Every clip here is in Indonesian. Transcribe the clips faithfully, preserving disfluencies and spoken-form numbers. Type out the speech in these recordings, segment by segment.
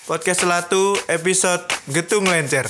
Podcast Selatu episode Getung Lencer.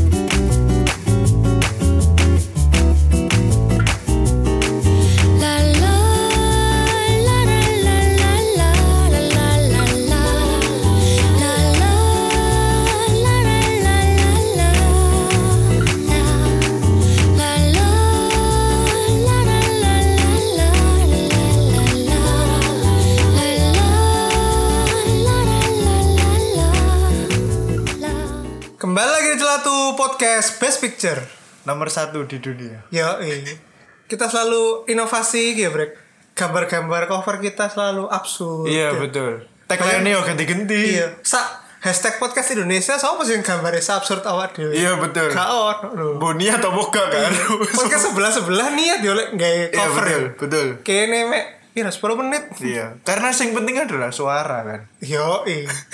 Kembali lagi di Celatu Podcast Best Picture Nomor satu di dunia. Ya, kita selalu inovasi ya, Brek. Gambar-gambar cover kita selalu absurd. Iya, ya. betul. Tagline-nya yo ganti-ganti. Iya. Sa hashtag podcast Indonesia sapa sing gambare absurd awak dhewe. Iya, betul. Gak ono lho. Boni atau boga kan? Podcast sebelah-sebelah niat yo lek gawe Iya, cover. betul, betul. Kene mek kira sepuluh menit. Iya, karena yang penting adalah suara kan. Yo,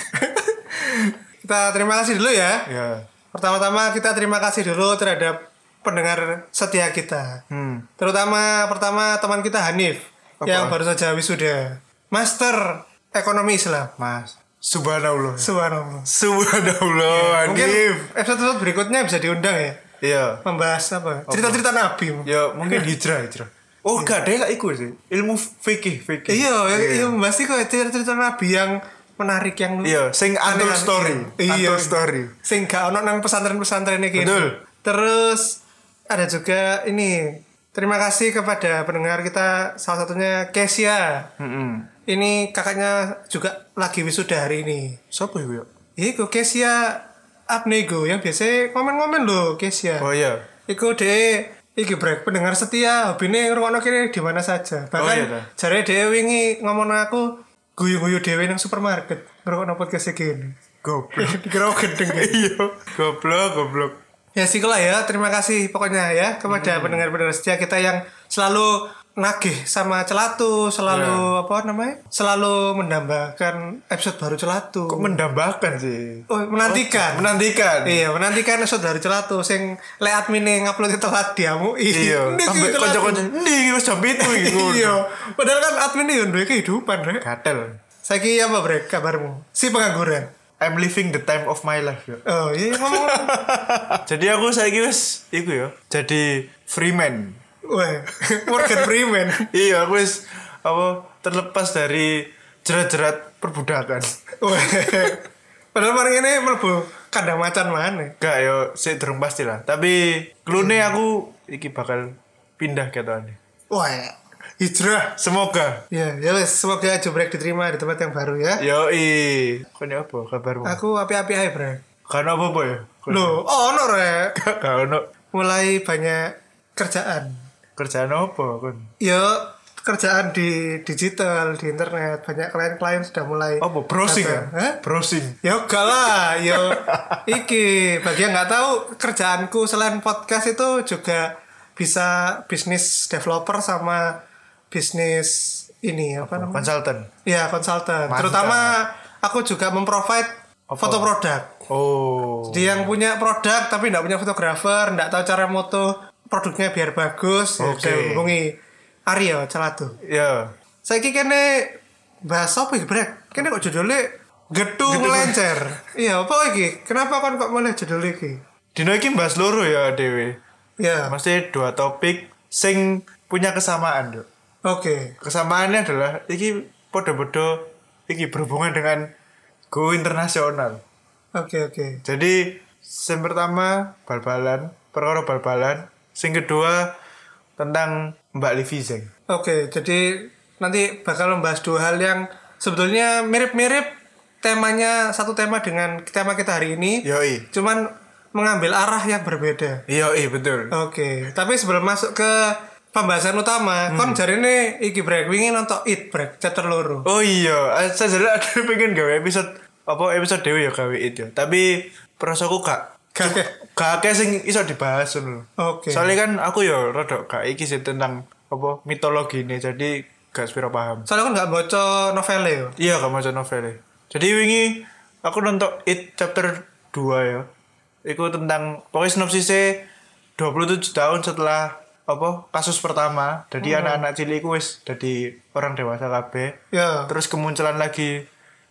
kita terima kasih dulu ya. Iya. Pertama-tama kita terima kasih dulu terhadap pendengar setia kita. Hmm. Terutama pertama teman kita Hanif Apa? yang baru saja wisuda Master Ekonomi Islam. Mas, subhanallah. Subhanallah. Subhanallah, Mungkin Hanif. episode berikutnya bisa diundang ya. Iya. Membahas apa? Cerita-cerita Nabi. Ya, mungkin hijrah, hijrah. Oh, gak ada lah iku sih. Ilmu fikih, fikih. Iya, iya membahas itu cerita-cerita Nabi yang menarik yang Iya, sing untold story. Iya. Untold story. Sing gak ono nang pesantren-pesantren iki. Betul. Terus ada juga ini. Terima kasih kepada pendengar kita, salah satunya Kesia. Heeh. Ini kakaknya juga lagi wisuda hari ini. Siapa itu ya? Iku Kesia Abnego yang biasa komen-komen loh Kesia. Oh iya. Iku de iki brek pendengar setia, hobine ngrungokno kene di mana saja. Bahkan Oh, iya, jare dhewe wingi ngomong aku guyu-guyu dhewe nang supermarket ngrungokno podcast iki. Goblok. Dikira gendeng ya. Iya. Goblok, goblok. Ya sikulah ya, terima kasih pokoknya ya kepada hmm. pendengar-pendengar setia kita yang selalu nagih sama Celatu, selalu yeah. apa namanya? Selalu mendambakan episode baru Celatu. Kok mendambakan sih? Oh, menantikan. Oh, menantikan. Iya, menantikan episode dari Celatu sing le admine ngupload telat diamu. Iya. Sampai kanca-kanca ndi wis jam itu iku. Iya. Padahal kan admin yo duwe kehidupan, Rek. Gatel. Saiki apa, Brek, kabarmu? Si pengangguran. I'm living the time of my life ya. Oh, iya ngomong. Jadi aku saiki wis iku ya. Jadi free man. Wah, Morgan Freeman. Iya, aku wis apa terlepas dari jerat-jerat perbudakan. Wah. Padahal mari ini mlebu kandang macan mana? Gak yo, sik durung pasti lah. Tapi klune aku iki bakal pindah ketone. Wah, hijrah. Semoga. Ya, ya wes, semoga Jubrek diterima di tempat yang baru ya. Yo i, kone apa kabarmu? Aku api-api aja, Brek. Karena apa-apa ya? Loh, oh ono Rek. Gak ono. Mulai banyak kerjaan. Kerjaan apa kon? Ya, kerjaan di digital, di internet. Banyak klien-klien sudah mulai Apa browsing ya? Hah? Browsing. Ya enggak lah, ya iki bagi yang nggak tahu kerjaanku selain podcast itu juga bisa bisnis developer sama bisnis ini apa, apa namanya? Konsultan. Iya, konsultan. Mantap. Terutama aku juga memprovide Apa? foto produk. Oh. Jadi yang punya produk tapi nggak punya fotografer, nggak tahu cara moto produknya biar bagus, ya Oke. bisa hubungi Aryo Celatu. Ya. Saiki kene bahas apa iki, Brek? Kene kok judulnya Getung Lencer. Iya, apa iki? Kenapa kon kok mulai judul iki? Dino iki bahas loro ya Dewi. Ya. Mesti dua topik sing punya kesamaan, Dok. Oke. Kesamaannya adalah iki podo-podo iki berhubungan dengan go internasional. Oke, oke. Jadi yang pertama bal-balan, perkara bal-balan. Yang kedua tentang Mbak Livi Zeng. Oke, jadi nanti bakal membahas dua hal yang sebetulnya mirip-mirip temanya, satu tema dengan tema kita hari ini. Yoi. Cuman mengambil arah yang berbeda. Yoi, betul. Oke, tapi sebelum masuk ke pembahasan utama, hmm. kon jarine iki Brek wingi nonton It Brek chapter loro. Oh iya, saya jadi ada pengen gawe episode apa episode dewe ya gawe It ya. Tapi perasaanku gak Gak gak akeh sing iso dibahas ngono. Oke. Soalnya kan aku ya rada gak iki sih tentang apa mitologi ini, jadi gak sepiro paham. Soalnya kan gak baca novelnya ya. Iya, gak maca novelnya. Jadi wingi aku nonton It chapter dua ya. Iku tentang pokoknya sinopsisnya dua puluh tujuh tahun setelah apa kasus pertama. Jadi hmm. anak-anak cilik wis jadi orang dewasa kabeh. Ya. Terus kemunculan lagi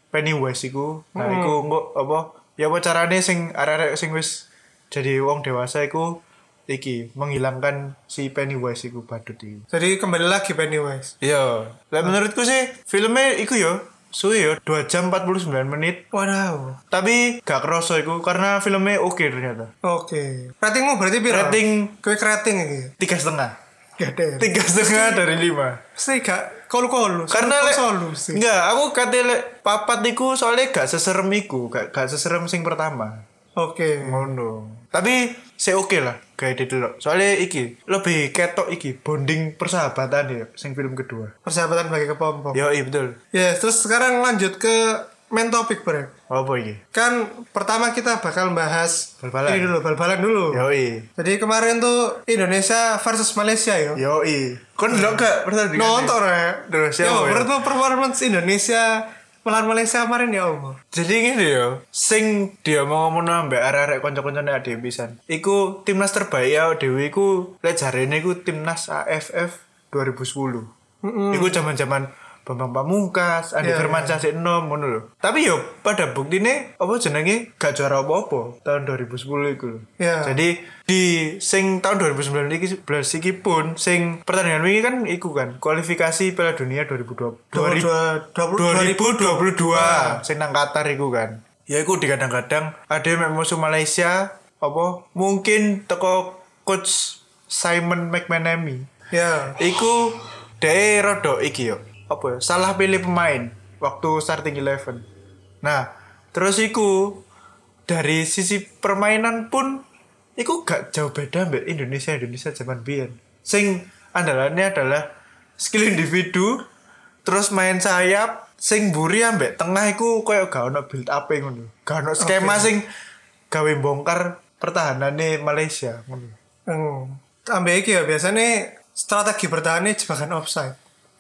Pennywise iku. Nah, Hmm. iku engko apa? Ya apa carane sing arek-arek sing wis jadi wong dewasa iku iki menghilangkan si Pennywise iku badut iku. Jadi kembali lagi Pennywise. Iya. Lah menurutku sih filmnya iku yo suwe yo dua jam empat puluh sembilan menit. Wadaw. Tapi gak kerasa iku karena filmnya oke ternyata. Oke. Ratingmu berarti piro? Rating Kowe rating iki. tiga setengah. Gede. Tiga setengah dari lima. Mesti gak kolu-kolu. Karena lek solusi. enggak, aku kate lek papat iku soalnya gak seserem iku, gak gak seserem sing pertama. Oke. Ngono. Tapi saya oke lah kayak itu loh. Soalnya iki lebih ketok iki bonding persahabatan ya sing film kedua. Persahabatan bagi kepompong. Yo iya betul. Ya, terus sekarang lanjut ke main topik, Bro. Apa iki? Kan pertama kita bakal bahas Bal-balan. ini dulu, bal-balan dulu. Yo iya. Jadi kemarin tuh Indonesia versus Malaysia yo. Yo iya. Kon ndelok gak pertandingan? Nonton ya. Terus Yo, siapa? menurutmu performance Indonesia melawan Malaysia kemarin ya Allah. Jadi gini yo, sing dia mau ngomong ambek arek-arek kanca-kancane ade pisan. Iku timnas terbaik ya dhewe iku lek jarene iku timnas A F F dua ribu sepuluh. Mm-mm. Iku zaman-zaman Bambang Pamungkas, Andi Iya, Firmansyah sik enom ngono lho. Tapi yo pada buktine apa jenenge gak juara apa-apa tahun dua ribu sepuluh iku lho. Iya. Jadi di sing tahun dua ribu sembilan belas iki pun sing pertandingan wingi kan iku kan kualifikasi Piala Dunia dua ribu dua puluh dua ribu dua puluh dua sing nang Qatar iku kan. Ya iku dikadang-kadang ada yang musuh Malaysia apa mungkin teko coach Simon McManamy. Ya. Iku dhek rada iki yo. Apa ya? Salah pilih pemain waktu starting eleven. Nah, terus iku dari sisi permainan pun iku gak jauh beda mbek Indonesia Indonesia zaman biyen. Sing andalannya adalah skill individu, terus main sayap, sing mburi ambek tengah iku koyo gak ono build up e ngono. Gak ono skema Oke. sing gawe bongkar pertahanannya Malaysia ngono. Hmm. Ambek iki ya biasanya strategi bertahannya jebakan offside.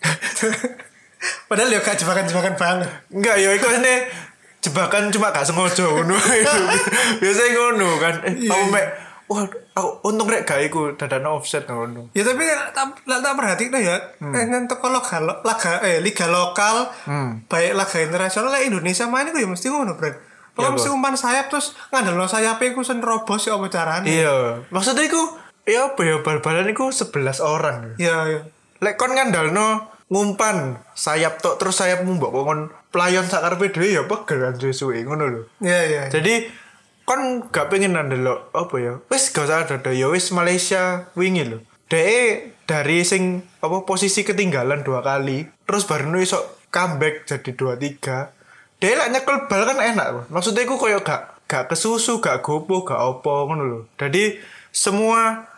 Padahal ya gak jebakan-jebakan banget. Enggak ya iku ini jebakan cuma gak sengaja ngono. Biasanya ngono kan. Eh, aku mek wah aku untung rek gak iku dadane offset ngono. Ya tapi tak tak tak perhatiin ya. Eh nang teko laga laga eh liga lokal, Hmm. baik laga internasional lah Indonesia main iku ya mesti ngono, Bro. Kalau Iya, mesti Bro. umpan sayap terus ngandel sayape iku sen robos ya apa carane. Iya, maksudnya iku ya apa ya bal-balan iku sebelas orang. Iya, iya. Lek kon ngandalno ngumpan sayap tok terus sayap mbok kon playon sakarepe dhewe ya pegel kan suwe ngono lho. Iya, iya. Jadi kon gak pengen ndelok apa ya. Wis gak usah ada ya wis Malaysia wingi lho. Dek dari sing apa posisi ketinggalan dua kali terus baru iso comeback jadi dua tiga. Dek lek nyekel bal kan enak loh. Maksudnya iku koyo gak gak kesusu, gak gopo, gak opo ngono lho. Jadi semua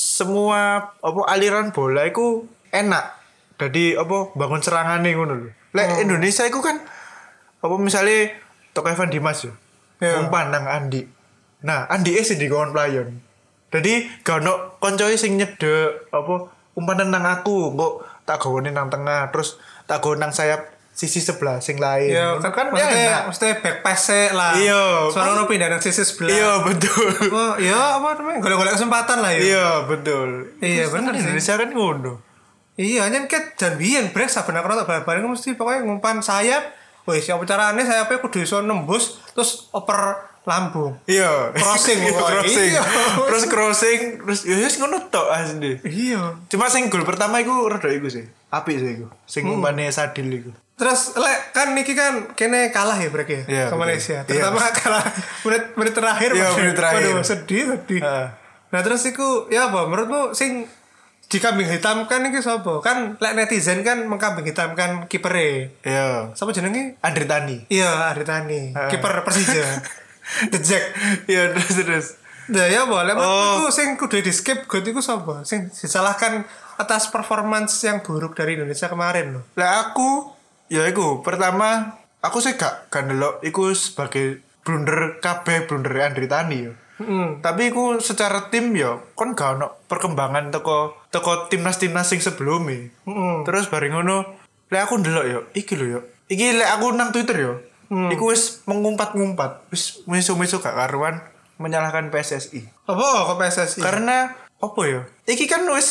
semua apa aliran bola iku enak. Jadi apa bangun serangane ngono lho. Lek Oh. Indonesia iku kan apa misalnya Tok Evan Dimas yo. Ya. Umpan nang Andi. Nah, Andi es di kawan playon. Jadi gak ono koncoe sing nyedek apa umpan nang aku, kok tak gawone nang tengah, terus tak gawe nang sayap sisi sebelah sing lain. Iya, Ngono kan ya maksudnya, enak. maksudnya back pass lah. Iya. Soalnya ono pindah nang sisi sebelah. Iya, betul. Oh, iya apa namanya? Golek-golek kesempatan lah ya. Iya, betul. Iya, Terus bener kan sih. Indonesia kan ngono. Iya, nyen ket jan biyen brek saben aku nonton bal-balan mesti pokoknya ngumpan sayap. Wis apa carane sayapnya kudu iso nembus terus oper lambung. Iya. Crossing, Iya, pokoknya. crossing. Iya. Terus crossing, terus ya wis ngono tok asli. Iya. Cuma sing gol pertama iku rada iku sih. Apik sih iku. Sing Hmm. umpane Sadil iku. Terus lek kan niki kan kene kalah ya brek ya Iya, ke betul. Malaysia. Iya. Terutama kalah menit menit terakhir. Iya, Mas. menit terakhir. Waduh, sedih, sedih. Heeh. Nah, terus iku ya apa menurutmu sing dikambing hitamkan iki sapa? Kan lek netizen kan mengkambing hitamkan kipere. Iya. Sapa jenenge? Andri Tani. Iya, Aritani. Heeh. Kiper Persija. The Jack. Iya, terus terus. Nah, ya boleh. Oh. Menurutku sing kudu di skip god iku sapa? Sing disalahkan atas performance yang buruk dari Indonesia kemarin loh. Lah aku ya iku pertama aku sih gak gak ndelok iku sebagai blunder kabeh blunder Andri Tani ya. Heeh. Tapi iku secara tim ya kon gak ono perkembangan teko teko timnas-timnas sing sebelumnya. Heeh. Terus bareng ngono lek aku ndelok ya iki lho ya. Iki lek aku nang Twitter ya. Hmm. Iku wis mengumpat-ngumpat, wis meso-meso gak karuan menyalahkan P S S I. Apa kok P S S I? Karena apa ya? Iki kan wis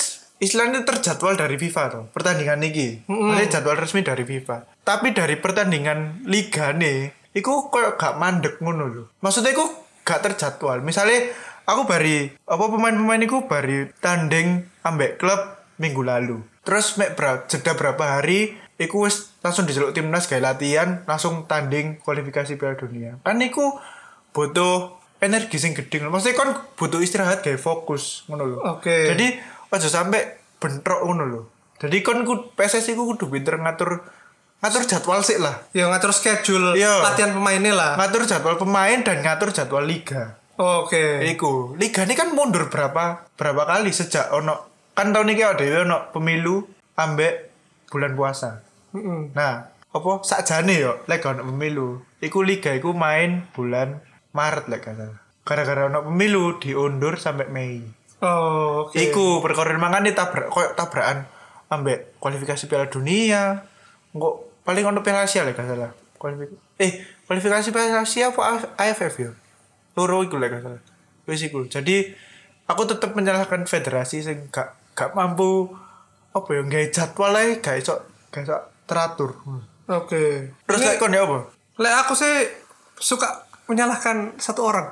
istilahnya terjadwal dari FIFA tuh pertandingan iki. Mm-mm. Maksudnya jadwal resmi dari FIFA. Tapi dari pertandingan liga nih, iku koyo gak mandek ngono lho. Maksudnya iku gak terjadwal. Misalnya aku bari apa pemain-pemain iku bari tanding ambek klub minggu lalu. Terus mek bra, jeda berapa hari iku wis langsung diceluk timnas gawe latihan, langsung tanding kualifikasi Piala Dunia. Kan iku butuh energi sing gede. Maksudnya kan butuh istirahat gawe fokus ngono lho. Oke. Jadi aja sampai bentrok ngono lho. Jadi kon ku P S S I ku kudu pinter ngatur ngatur jadwal sih lah. Ya ngatur schedule Iya. latihan pemainnya lah. Ngatur jadwal pemain dan ngatur jadwal liga. Oke. Iku, liga ini kan mundur berapa berapa kali sejak ono kan tahun ini ada ono pemilu ambek bulan puasa. Mm-mm. Nah, apa sakjane yo lek ono pemilu. Iku liga iku main bulan Maret lek gak salah. Gara-gara ono pemilu diundur sampai Mei. Oh, oke. Iku perkara mangane tabrak koyo tabrakan ambek kualifikasi Piala Dunia. Engko paling ono Piala Asia lek gak salah. Kualifikasi eh kualifikasi Piala Asia apa A F F yo? Loro iku lek gak salah. Wis iku. Jadi aku tetap menyalahkan federasi sing gak gak mampu apa ya gawe jadwal ae gak iso gak iso teratur. Oke. Terus Ini- lek kon ya apa? Lek aku sih suka menyalahkan satu orang.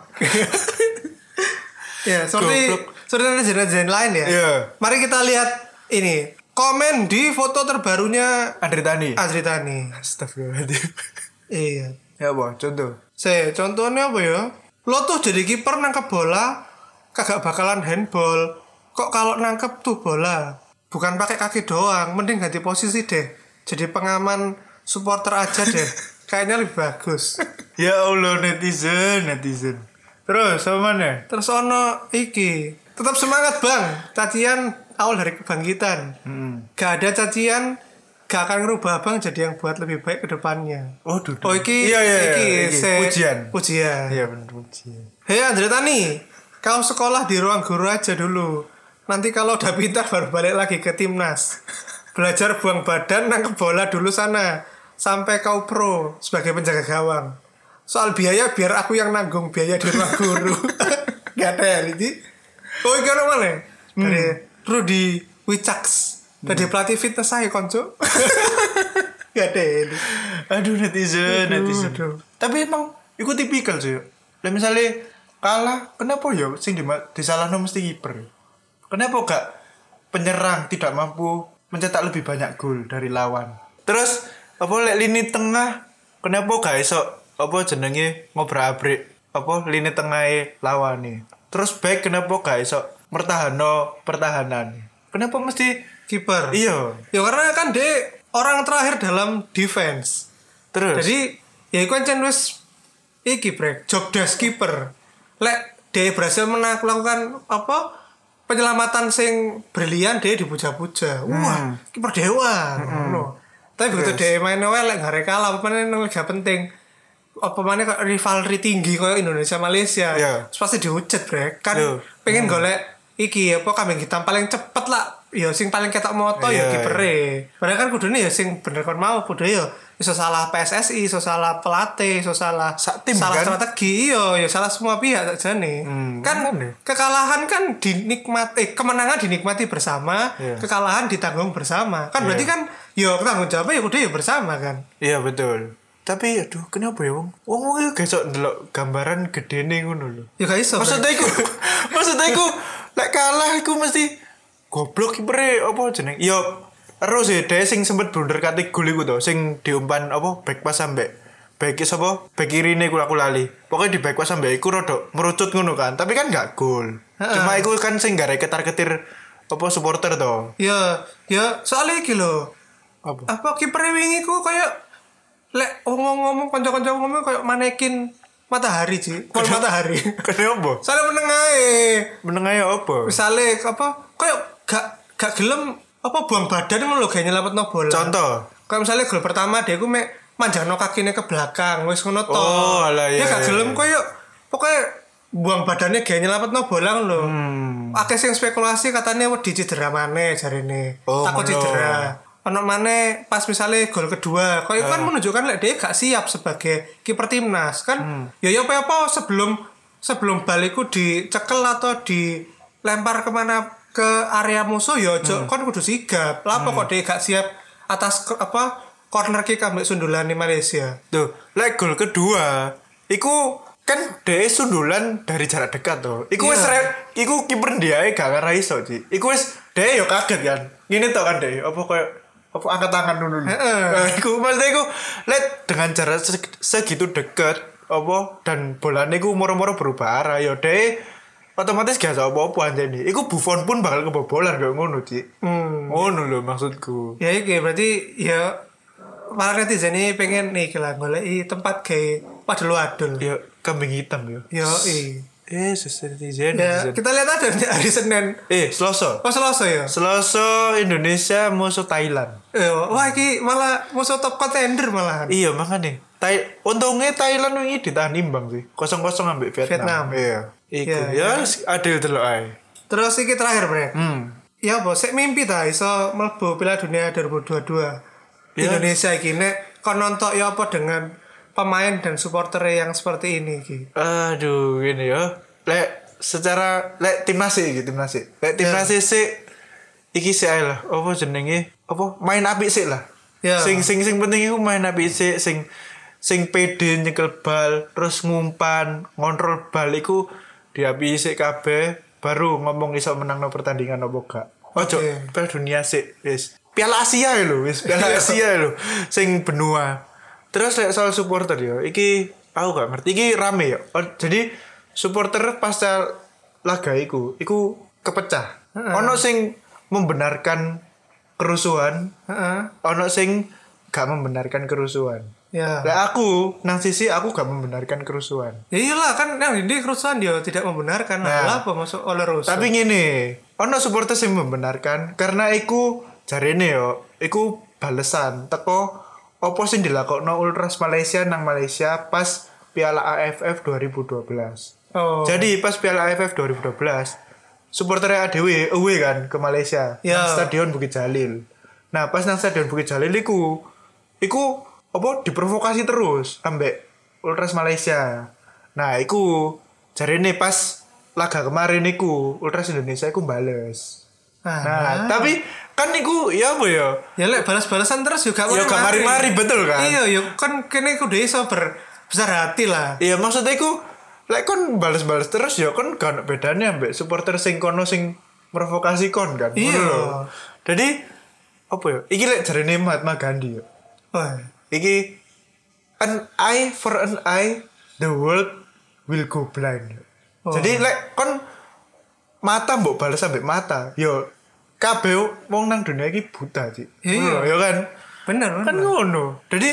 Ya, seperti Goblok. seperti netizen-netizen lain ya. Iya. Mari kita lihat ini. Komen di foto terbarunya Andre Tani. Adri Tani. Astagfirullahaladzim. Iya. Ya apa? Contoh. Se, contohnya apa ya? Lo tuh jadi kiper nangkep bola kagak bakalan handball. Kok kalau nangkep tuh bola bukan pakai kaki doang, mending ganti posisi deh. Jadi pengaman supporter aja deh. Kayaknya lebih bagus. Ya Allah netizen, netizen. Terus sama mana? Terus ono iki, tetap semangat bang. Cacian awal dari kebangkitan. Hmm. Gak ada cacian, gak akan ngerubah bang jadi yang buat lebih baik ke depannya. Oh, duduk. Oh iki, Iya, iya, iki, iya, iki. se- Pujian. pujian. Iya bener pujian. Hei Andre Tani, kau sekolah di ruang guru aja dulu. Nanti kalau udah pintar baru balik lagi ke timnas. Belajar buang badan, nangkep bola dulu sana. Sampai kau pro sebagai penjaga gawang. Soal biaya biar aku yang nanggung biaya di ruang guru. Gak ada ini. Oh ini mana mana? Dari Rudy Wicaks. Dari pelatih fitness saya konco. Gak ada ini. Aduh netizen, Aduh, netizen. aduh. Tapi emang ikut tipikal sih. Lah misalnya kalah, kenapa ya sing di disalahno mesti kiper? Kenapa gak penyerang tidak mampu mencetak lebih banyak gol dari lawan? Terus apa lek lini tengah kenapa gak iso apa jenenge ngobrak-abrik apa lini tengah lawan nih? Terus back kenapa gak iso mertahanno pertahanan? Kenapa mesti Kiper. iya? Ya karena kan dia orang terakhir dalam defense. Terus Jadi ya iku ancen wis iki brek job desk keeper. Lek dia berhasil menang- melakukan apa penyelamatan sing brilian dia dipuja-puja. Wah, kiper dewa. Ngono. Tapi begitu dia main elek gak kalah apa meneh nang liga penting. Apa mana kok rivalry tinggi kayak Indonesia Malaysia. Iya. Terus pasti dihujat brek. Kan Iya. pengen golek iki apa kambing hitam paling cepet lah. Ya sing paling ketok moto ya Iya, kipere. Padahal kan kudune ya sing bener kon mau kudu ya iso salah P S S I, iso salah pelatih, iso salah Sak tim, salah kan? strategi, iya ya salah semua pihak sakjane. Hmm, kan kan ya. kekalahan kan dinikmati eh kemenangan dinikmati bersama, Iya. kekalahan ditanggung bersama. Kan berarti Iya. kan ya tanggung jawabnya ya kudu ya bersama kan. iya betul. Tapi aduh kenapa ya wong? Wong wong iku gesok ndelok gambaran gedene ngono lho. Ya gak iso. Maksudnya iku maksudnya iku lek kalah iku mesti goblok kipere apa jeneng? Ya terus ya dhek sing sempet blunder kate gol iku to, sing diumpan apa back pas sampe back sapa? Back kirine iku aku lali. Pokoknya di back pas sampe iku rada merucut ngono kan, tapi kan gak gol. Heeh. Cuma iku kan sing gare ketar-ketir apa supporter to. Ya ya soalnya iki lho. Apa? Apa kiper wingi ku kayak lek ngomong-ngomong kanca-kanca ngomong kayak manekin matahari sih. Pol matahari. Kenapa? Soalnya meneng ae. Menengahnya apa? Misalnya apa kayak gak gak gelem apa buang badan ngono lho gawe nyelametno bola. Contoh. Kayak misalnya gol pertama dia ku mek manjangno kakine ke belakang wis ngono to. Oh, alah, iya, Dia gak iya, gelem iya. koyo pokoknya buang badannya gawe nyelametno bola ngono lho. Hmm. Akeh sing spekulasi katanya wedi cedera maneh jarene. Oh, Takut ngono. cedera. Ono maneh pas misalnya gol kedua, koyo kan menunjukkan lek dia gak siap sebagai kiper timnas kan. Ya ya apa-apa sebelum sebelum baliku dicekel atau dilempar kemana ke area musuh ya ojo kon kudu sigap. Lah apa kok dia gak siap atas ke- apa corner kick ambek sundulan di Malaysia. Tuh, lek gol kedua, iku kan dhek sundulan dari jarak dekat tuh. Iku wis Iya. re- iku kiper dia gak ngarah iso, Ci. Iku wis dhek yo kaget kan. Ngene tok kan dhek, apa koyo apa angkat tangan dulu. Heeh. Nah, iku maksudnya iku lek dengan jarak se- segitu dekat apa dan bolanya iku moro-moro berubah arah yo dhek otomatis gak iso apa-apa anjene. Iku Buffon pun bakal kebobolan kayak ngono, Ci. Hmm. Ngono lho maksudku. Ya iki berarti ya para netizen ini pengen nih kira goleki tempat kayak wadul-wadul. Ya kambing hitam yo. Yo i. Eh, netizen. Ya, netizen. kita lihat aja nih hari Senin. Eh, Selasa. Oh Selasa ya. Selasa Indonesia musuh Thailand. Eh, wah iki malah musuh top contender malahan. Iya makanya. Thai untungnya Thailand ini ditahan imbang sih. Kosong-kosong ambil Vietnam. Vietnam. Iya. Iku Iya, ya adil delok ae. Terus iki terakhir, Bre. Hmm. Ya apa sik mimpi ta iso mlebu Piala Dunia dua ribu dua puluh dua. Ya. Indonesia iki nek kon nonton ya apa dengan pemain dan supporter yang seperti ini iki. Aduh, gini ya. Lek secara lek timnas sih gitu, timnas sih. Lek timnas Ya. sih iki sih ae lah. Apa jenenge? Apa main apik sih lah. Ya. Sing sing sing penting iku main apik sih sing sing pede nyekel bal, terus ngumpan, ngontrol bal iku diapisi kabeh baru ngomong iso menangno pertandingan apa gak. Ojo Oke. Piala Dunia sih, wis. Piala Asia ya lho, wis. Piala Asia lho sing benua. Terus lek soal supporter yo, iki aku gak ngerti iki rame ya. Oh, jadi supporter pasca laga iku, iku kepecah. Ono sing membenarkan kerusuhan, Heeh. ono sing gak membenarkan kerusuhan. Ya. Lah aku nang sisi aku gak membenarkan kerusuhan. Ya iyalah kan yang ini kerusuhan dia tidak membenarkan. Nah. Lah apa masuk oleh rusuh. Tapi ngene, ono supporter sing membenarkan karena iku jarene yo, iku balesan teko opo sing dilakokno Ultras Malaysia nang Malaysia pas Piala A F F dua ribu dua belas. Oh. Jadi pas Piala A F F dua ribu dua belas, supporter A D W away kan ke Malaysia, Ya. nang Stadion Bukit Jalil. Nah, pas nang Stadion Bukit Jalil iku iku apa diprovokasi terus ambek Ultras Malaysia. Nah, iku jarene pas laga kemarin iku Ultras Indonesia iku bales. Ah. Nah, tapi kan iku ya apa ya? Ya lek balas-balasan terus juga Ya gak mari-mari betul kan? Iya, ya kan kene kudu iso ber besar hati lah. Iya, maksudnya iku lek kon bales-bales terus ya kon gak ono bedane ambek supporter sing kono sing provokasi kon kan. Iya. Ngono lho. Jadi apa ya? Iki lek jarene Mahatma Gandhi ya. Wah. Iki an eye for an eye, the world will go blind. Oh. Jadi lek kon mata mbok balas sampai mata, yo kabeh wong nang dunia iki buta, Cik. Iya. Ngono, ya kan? Bener, Kan bener. ngono. Jadi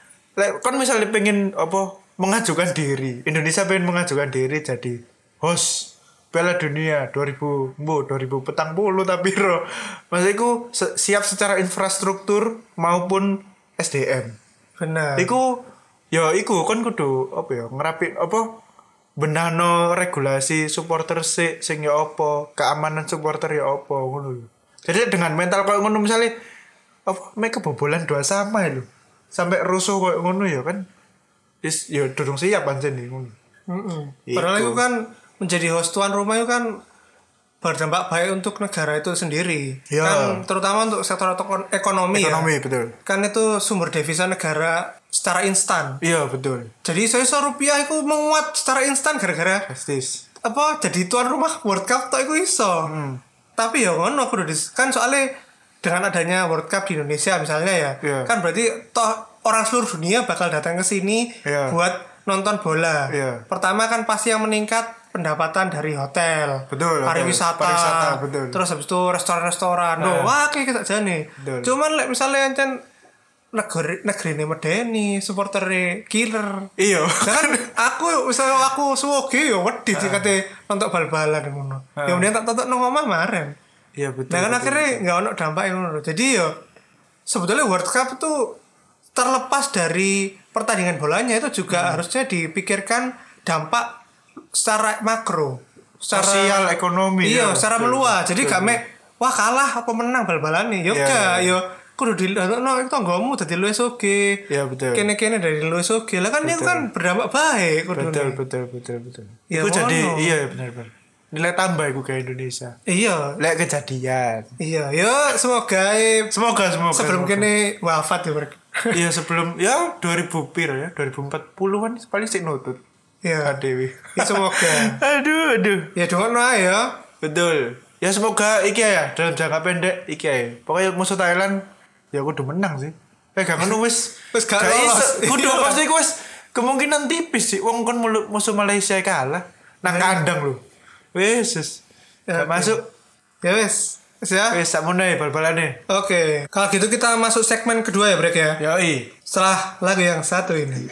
lek kon misalnya pengen apa mengajukan diri, Indonesia pengen mengajukan diri jadi host Piala Dunia dua ribu mbo dua ribu petang puluh tapi ro. Maksudku se- siap secara infrastruktur maupun S D M. Bener. Iku ya iku kon kudu apa ya ngerapin apa benahno regulasi supporter sik sing ya apa keamanan supporter ya apa ngono lho. Jadi dengan mental koyo ngono misalnya apa mek kebobolan dua sama lho. Sampai rusuh koyo ngono ya kan. Is ya durung siap pancen nih ngono. Mm-mm. Iku. Padahal itu kan menjadi host tuan rumah itu kan berdampak baik untuk negara itu sendiri. Ya. Kan terutama untuk sektor ekon- ekonomi, Ekonomi ya. betul. Kan itu sumber devisa negara secara instan. Iya betul. Jadi saya rupiah itu menguat secara instan gara-gara Pasti. apa jadi tuan rumah World Cup tok iku iso. Hmm. Tapi ya ngono kudu dis- kan soalnya dengan adanya World Cup di Indonesia misalnya ya, Iya. kan berarti toh orang seluruh dunia bakal datang ke sini Iya. buat nonton bola. Iya. Pertama kan pasti yang meningkat pendapatan dari hotel, Betul, pariwisata, hotel, pariwisata, betul. terus habis itu restoran-restoran. Nah. Loh, wah kayak kita jane. Betul. Cuman lek misalnya ancen negeri negeri ini medeni supporter killer. Iya. Nah kan aku misalnya aku suwoge ya wedi sih kate nonton bal-balan ngono. Ya mending tak tonton nang omah maren. Iya betul. Nah kan betul. akhirnya nggak ono dampak ngono. Jadi ya sebetulnya World Cup itu terlepas dari pertandingan bolanya itu juga harusnya dipikirkan dampak secara makro, secara Sosial, ekonomi, Iya, ya. secara Betul, meluas. Jadi betul, gak mek wah kalah apa menang bal-balan nih. Yo Iya, gak, iya. yo kudu di no itu tanggamu dadi luwes oge. Iya, betul. Kene-kene dari luwes oge. Lah kan itu kan berdampak baik kudu. Betul betul betul betul. Ya, Itu jadi ngono. iya benar benar. nilai tambah iku ke Indonesia. Iya. Lek kejadian. Iya, ya semoga eh, Semoga semoga. sebelum semoga. kene wafat ya mereka. Iya sebelum ya dua ribu piro ya dua ribu empat puluhan paling sik nutut. Iya. Adewi. Ya semoga. aduh aduh. Ya doang ae ya. Betul. Ya semoga iki ya dalam jangka pendek iki ya. Pokoknya musuh Thailand ya kudu menang sih. Eh gak ngono wis Wis gak lolos. Kudu Iya. pasti wis kemungkinan tipis sih wong kon mulu- musuh Malaysia kalah nang kandang lho. Wis wis. Ya, Gak oke. masuk. Ya wes. Wes ya. Wis sakmono ya bal-balane. Oke. Kalau gitu kita masuk segmen kedua ya, Brek ya. Yoi. Setelah lagu yang satu ini.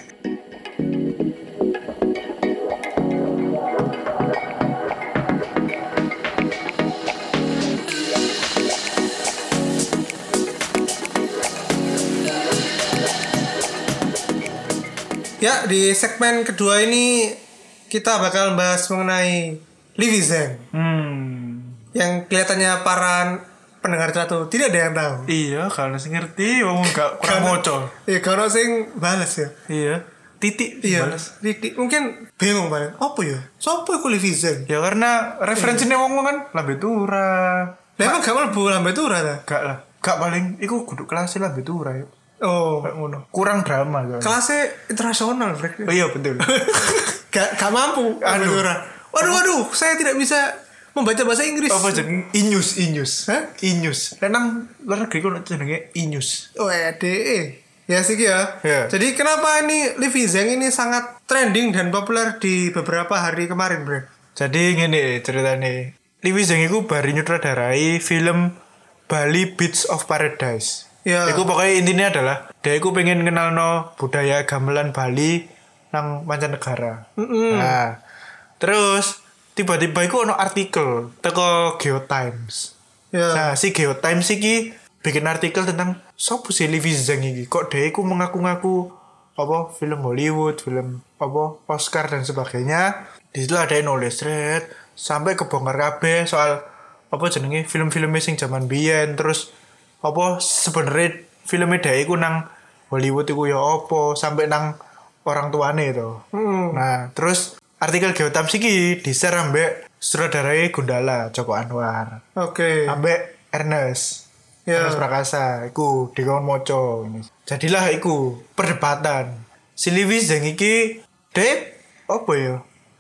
Ya, di segmen kedua ini kita bakal bahas mengenai Livi Zeng Hmm. yang kelihatannya para pendengar Catu tidak ada yang tahu. Iya, kalau sing ngerti wong gak kurang Karena- moco. Iya, kalau sing balas ya. Iya. Titik Iya, balas. Titik. Mungkin bingung banget. Apa ya? Sopo iku Livi Zeng? Ya karena referensinya wong kan Lambe Tura. Lah emang gak mlebu lambe tura ta? Gak lah. Gak paling iku kudu kelas Lambe Tura ya. Oh, Kayak ngono. Kurang drama kan. kelasnya internasional, Brek. Oh iya betul. gak, gak mampu lambe Aduh. tura. Waduh, waduh, saya tidak bisa membaca bahasa Inggris. Apa jeneng Inyus Inyus. Hah? Inyus. Lah nang luar negeri kok jenenge Inyus. Oh, E D E. Ya sih ya. Ya. Jadi kenapa ini Livi Zeng ini sangat trending dan populer di beberapa hari kemarin, Bre? Jadi ngene ceritane. Livi Zeng iku bari nyutradarai film Bali Beach of Paradise. Ya. Iku pokoknya intinya adalah dia iku pengen kenalno budaya gamelan Bali nang mancanegara. Mm-mm. Nah, terus tiba-tiba iku ono artikel teko GeoTimes. Ya. Nah, si GeoTimes iki bikin artikel tentang sopo si Livi Zeng iki. Kok dia iku mengaku-ngaku apa film Hollywood, film apa Oscar dan sebagainya. Di situ ada yang nulis thread sampai kebongkar kabeh soal apa jenenge film-film sing zaman biyen terus apa sebenarnya filmnya dia iku nang Hollywood iku ya apa sampai nang orang tuane itu. Hmm. Nah, terus artikel Geotimes iki di-share ambek sutradarai Gundala Joko Anwar. Oke. Ambek Ernest. Ya. Ernest Prakasa iku dikon moco ini. Jadilah iku perdebatan. Si Livi Zeng iki dek apa ya?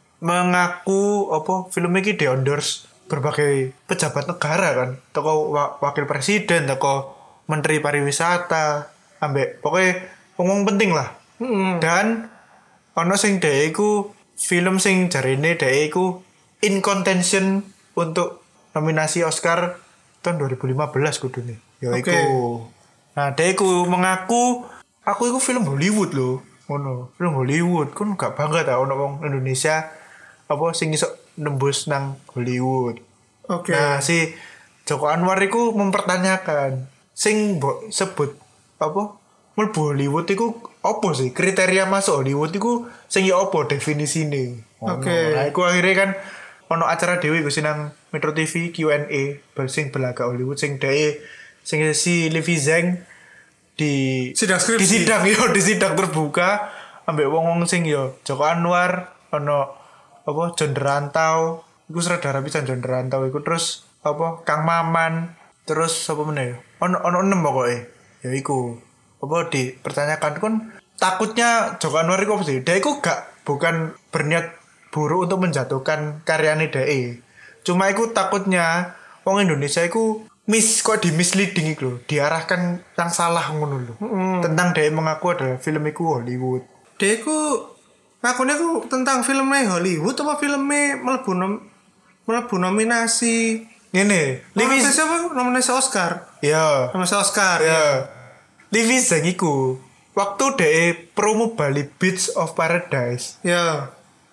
Mengaku apa film iki di-endorse berbagai pejabat negara kan. Toko wa- wakil presiden, toko menteri pariwisata, ambek pokoknya ngomong penting lah. Mm-mm. Dan ono sing dhek iku film sing jarine dhek iku in contention untuk nominasi Oscar tahun dua ribu lima belas kudune. Ya iku. Oke. Nah, dhek iku mengaku aku iku film Hollywood loh. Ngono, film Hollywood. Kon gak bangga ta ono wong Indonesia apa sing iso nembus nang Hollywood. Oke. Nah, si Joko Anwar iku mempertanyakan sing mbok sebut apa mlebu Hollywood iku apa sih kriteria masuk Hollywood iku sing ya apa definisine. Ngono. Oke. Nah, iku akhirnya kan ono acara dhewe iku sing nang Metro T V Q and A sing belaga Hollywood sing dhewe sing si Livi Zeng di Sidang skripsi. di sidang yo di sidang terbuka ambek wong-wong sing yo Joko Anwar ono apa John Derantau iku sutradara pisan John Derantau iku terus apa Kang Maman terus apa meneh ono ono enem pokoke ya iku apa dipertanyakan kon takutnya Joko Anwar iku apa sih dia iku gak bukan berniat buruk untuk menjatuhkan karyane dhek cuma iku takutnya wong Indonesia iku mis kok di misleading iku lho diarahkan yang salah ngono lho tentang dhek mengaku adalah film iku Hollywood Dia ku ngakunya ku tentang filmnya Hollywood apa filmnya melebu nom melebu nominasi ngene Livi nominasi apa nominasi Oscar ya nominasi Oscar ya Livi Zeng iku waktu dhek promo Bali Beach of Paradise ya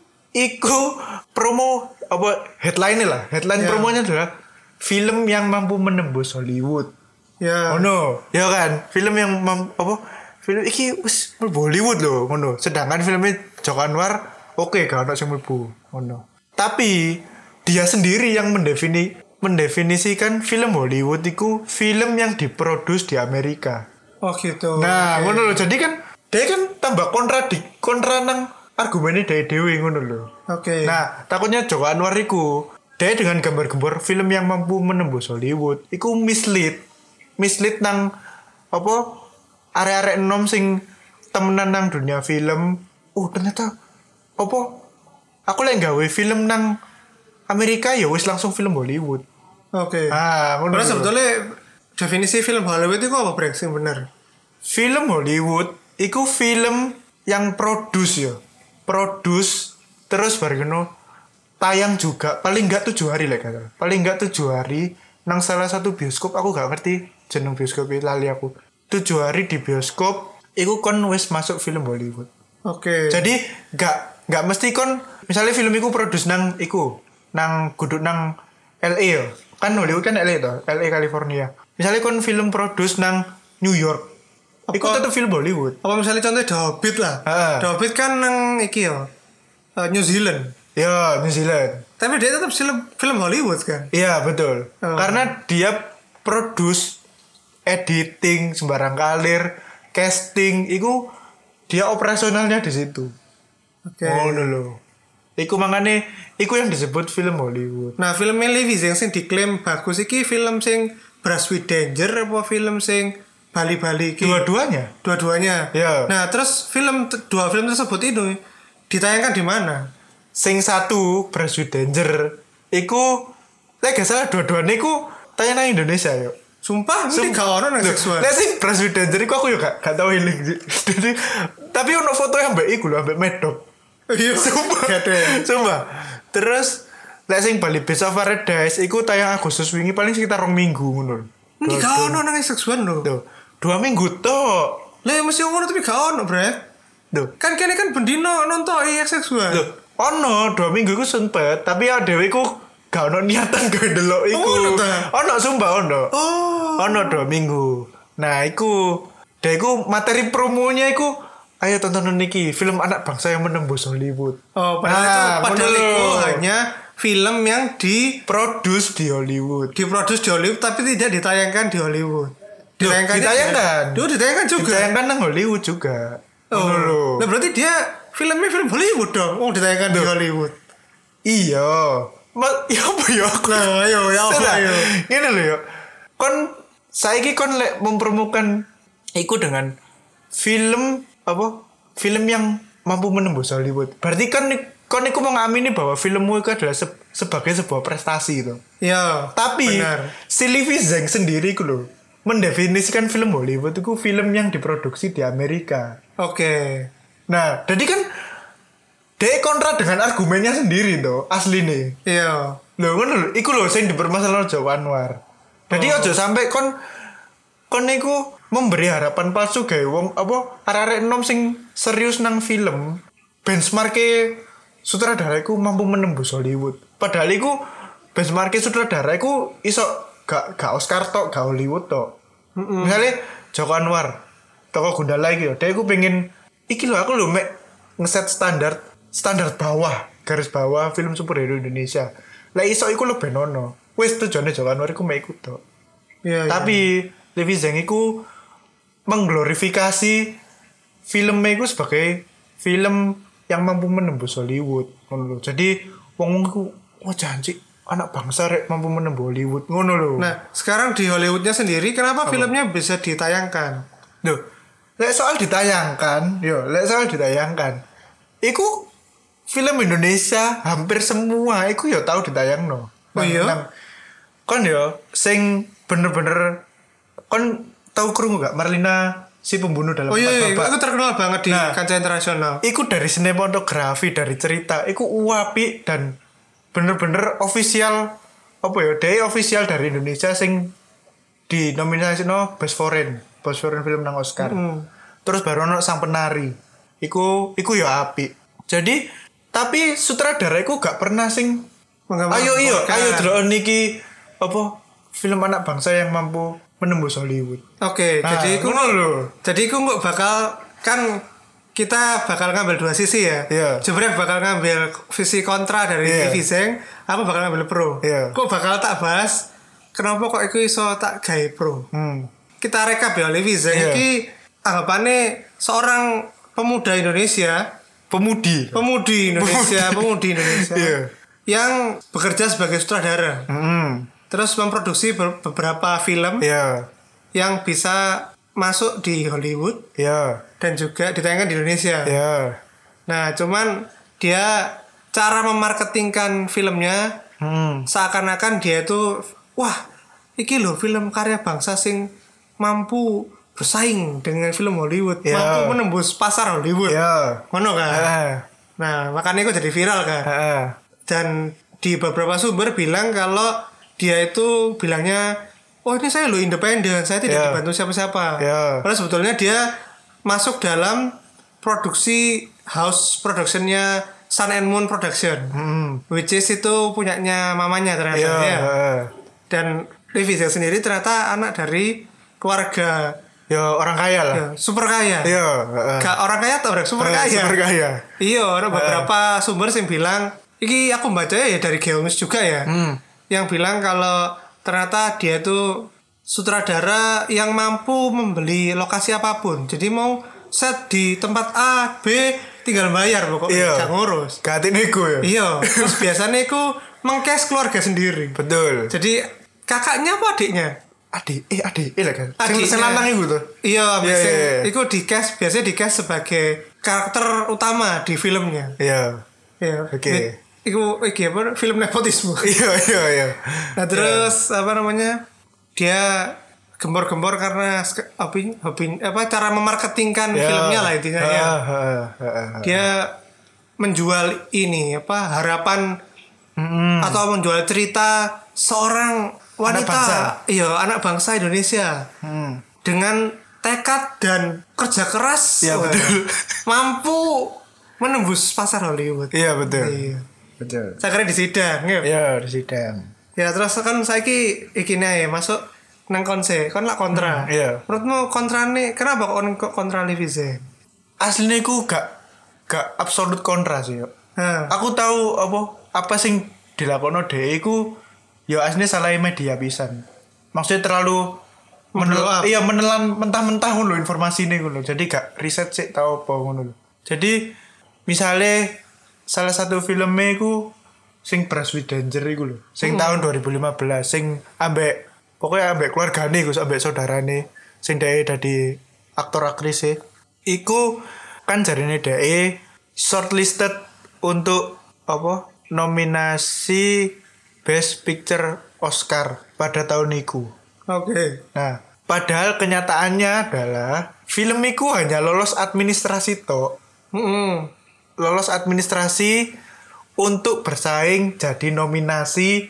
iku promo apa headline lah headline Ya. promonya adalah film yang mampu menembus Hollywood ya oh no ya kan film yang mam, apa film iki wis mlebu Hollywood loh ngono sedangkan filmnya Joko Anwar oke gak ono sing mlebu ngono tapi dia sendiri yang mendefini mendefinisikan film Hollywood itu film yang diproduksi di Amerika. oh gitu Nah, Oke. ngono lho. Jadi kan dia kan tambah kontradik kontra nang argumennya dari dewi ngono lho. oke Nah, takutnya Joko Anwar iku dia dengan gambar-gambar film yang mampu menembus Hollywood iku mislead mislead nang apa arek-arek enom sing temenan nang dunia film. Oh ternyata apa aku lagi gawe film nang Amerika ya wis langsung film Hollywood. Oke. Ah, ngono. Padahal sebetulnya definisi film Hollywood itu apa brek sing bener? Film Hollywood iku film yang produce ya. Produce terus bareng tayang juga paling enggak tujuh hari lah kata. Paling enggak tujuh hari nang salah satu bioskop aku gak ngerti jeneng bioskop lali aku. Tujuh hari di bioskop iku kon wis masuk film Hollywood. Oke. Jadi gak gak mesti kon misalnya film iku produce nang iku nang kudu nang L A ya. Kan Hollywood kan L A to, L A California. Misalnya kon film produce nang New York. Iku tetep film Hollywood. Apa misalnya contohnya The Hobbit lah. Ha. The Hobbit kan nang iki ya. Uh, New Zealand. Ya, New Zealand. Tapi dia tetap film film Hollywood kan. Iya, betul. Oh. Karena dia produce, editing, sembarang kalir, casting, itu dia operasionalnya di situ. Oke. Oh, dulu. Iku makanya, iku yang disebut film Hollywood. Nah, film Levi yang sing diklaim bagus iki film sing Brush with Danger apa film sing Bali-Bali iki? Dua-duanya. Dua-duanya. Ya. Nah, terus film dua film tersebut itu ditayangkan di mana? Sing satu Brush with Danger, iku, lek gak salah dua-duanya iku tayang nang Indonesia yuk. Sumpah, ini gak ono nang seksual. Lek sing Brush with Danger iku aku yuk gak, gak tau healing. Jadi, tapi ono foto yang mbak iku lho, mbak medok. Iya, Sumpah. gede. Sumpah. Terus lek sing Bali Beast of Paradise iku tayang Agustus wingi paling sekitar rong minggu ngono. Ini gak ono nang seksual lho. Tuh, dua minggu tok. Lah mesti ngono tapi gak ono, Brek. Tuh. Kan kene kan bendino nonton iya seksual. Loh, ono dua minggu iku sempet, tapi ya dhewe iku gak ono niatan gawe delok iku. Oh, ono ta? Ono sumpah ono. Oh. Ono dua minggu. Nah, iku dhewe iku materi promonya iku ayo tonton niki film anak bangsa yang menembus Hollywood. Oh, padahal Nah, itu padahal bener. itu hanya film yang di Produce di Hollywood. diproduksi di Hollywood tapi tidak ditayangkan di Hollywood. Ditayangkan. ditayangkan. Duh, ditayangkan juga. Ditayangkan nang Hollywood juga. Oh. Ngono lho. Nah, berarti dia filmnya film Hollywood dong. Oh, ditayangkan di Hollywood. Iya. Ma, ya apa ya aku? Nah, ayo, ya apa Salah. ayo. Ngene lho ya. Kon saiki kon lek mempromokan iku dengan film apa? Film yang mampu menembus Hollywood. Berarti kan kon iku mau ngamini bahwa filmmu itu adalah se- sebagai sebuah prestasi gitu. Iya. Tapi benar. si Levi Zhang sendiri iku lho mendefinisikan film Hollywood itu film yang diproduksi di Amerika. Oke. Nah, jadi kan dia kontra dengan argumennya sendiri tuh, asli nih. Iya. Lho ngono lho, iku lho sing dipermasalahkan Jawa Anwar. Jadi Oh. aja sampai kon kon niku memberi harapan palsu gawe wong apa arek-arek enom sing serius nang film. Benchmark-e sutradara iku mampu menembus Hollywood. Padahal iku benchmark-e sutradara iku iso gak gak Oscar tok, gak Hollywood tok. Mm-hmm. Misalnya Joko Anwar, toko Gundala iki lho, dia iku pengen iki lho aku lho mek ngeset standar standar bawah, garis bawah film superhero Indonesia. Lah iso iku lho ben ono. Wis tujuane Joko Anwar iku mek iku tok. Iya. Tapi Levi Zhang iku mengglorifikasi filmnya iku sebagai film yang mampu menembus Hollywood ngono lho. Jadi wong iku wah janji anak bangsa rek mampu menembus Hollywood ngono lho. Nah, sekarang di Hollywoodnya sendiri kenapa filmnya bisa ditayangkan? Loh, lek soal ditayangkan, yo, lek soal ditayangkan. Iku film Indonesia hampir semua iku yo tahu ditayangno. Oh iya? Nang- Kon yo sing bener-bener kon tahu krungu gak Marlina si pembunuh dalam Oh iya, Empat iya, Babak? itu terkenal banget di Nah. kancah internasional. Iku dari sinematografi, dari cerita, iku uapi dan bener-bener official apa ya? Dia official dari Indonesia sing di nominasi no Best Foreign, Best Foreign Film nang Oscar. Mm. Terus baru ono Sang Penari. Iku iku ya api. Jadi tapi sutradara iku gak pernah sing Menggambarkan. ayo iyo, ayo delok niki apa film anak bangsa yang mampu menembus Hollywood. Oke, Nah, jadi aku ngono lho. jadi aku nggak bakal kan kita bakal ngambil dua sisi ya. Iya. Jebrek bakal ngambil visi kontra dari Iya. Levi Zhang, aku bakal ngambil pro. Iya. Kok bakal tak bahas kenapa kok aku iso tak gawe pro. Hmm. Kita rekap ya Levi Zhang Iya. iki anggapannya seorang pemuda Indonesia, Pemudi. pemudi Indonesia, pemudi Indonesia. Iya. yang bekerja sebagai sutradara. Hmm. Terus memproduksi ber- beberapa film Ya. yang bisa masuk di Hollywood Ya. dan juga ditayangkan di Indonesia. Ya. Nah, cuman dia cara memarketingkan filmnya Hmm. seakan-akan dia itu wah, iki loh film karya bangsa sing mampu bersaing dengan film Hollywood, Ya. mampu menembus pasar Hollywood. Ya. Ngono kan? Heeh. Nah, makanya itu jadi viral kan. Heeh. Dan di beberapa sumber bilang kalau dia itu bilangnya, oh ini saya lo independen, saya tidak Ya. dibantu siapa-siapa. Ya. Padahal sebetulnya dia masuk dalam produksi house productionnya Sun and Moon Production, Hmm. which is itu punyanya mamanya ternyata. Ya. Ya. Heeh. Dan Lee Vizay sendiri ternyata anak dari keluarga Ya orang kaya lah. ya, super kaya. Iya. Heeh. Gak orang kaya atau orang super Eh, kaya? Super kaya. Iya, ada beberapa sumber yang bilang, iki aku baca ya dari Geonews juga ya, Hmm. yang bilang kalau ternyata dia itu sutradara yang mampu membeli lokasi apapun. Jadi mau set di tempat A, B, tinggal bayar pokoknya, Iya. gak ngurus. Gak nego ya. Iya, terus biasanya itu mengcast keluarga sendiri. Betul. Jadi kakaknya apa adiknya? Adik, eh adik, eh lah kan. Sing Adiknya. sing lanang iku tuh. Iya, Iya, biasanya iya, iya. itu di cast biasanya di cast sebagai karakter utama di filmnya. Iya. Iya. Oke. It- Iku iki apa film nepotisme. Iya, iya, iya. Nah, terus apa namanya? Dia gembor-gembor karena sk- hobi hobi apa cara memarketingkan Ya. filmnya lah intinya ya. Ah, ah, ah, ah. Dia menjual ini apa harapan Mm-mm. atau menjual cerita seorang wanita, bangsa. iya anak bangsa Indonesia Hmm. dengan tekad dan kerja keras, Iya, wah, betul. mampu menembus pasar Hollywood. Iya, betul. Iya. Betul. Saya kira di sidang, ya. Iya, di sidang. Ya terus kan saiki ikine ya masuk nang konse, kon lah kontra. Hmm, iya. Menurutmu kontra nih, kenapa kok kok kontra Lee Vizay? Aslinya aku gak gak absolut kontra sih yo. Nah, Aku tahu apa apa sing dilakoni dhek iku ya aslinya salah media pisan. Maksudnya terlalu Blow up. menel, iya menelan mentah-mentah ngono informasi ini ngono. Jadi gak riset sih tahu apa ngono lho. Jadi misalnya salah satu filmnya iku sing Brush with Danger iku lho. Sing tahun dua ribu lima belas sing ambek pokoknya ambek keluargane iku ambek saudarane sing dhek dadi aktor aktris e. Iku kan jarine dhek shortlisted untuk apa? Nominasi Best Picture Oscar pada tahun itu. oke. Nah, padahal kenyataannya adalah film itu hanya lolos administrasi tok. Mm-mm. Lolos administrasi untuk bersaing jadi nominasi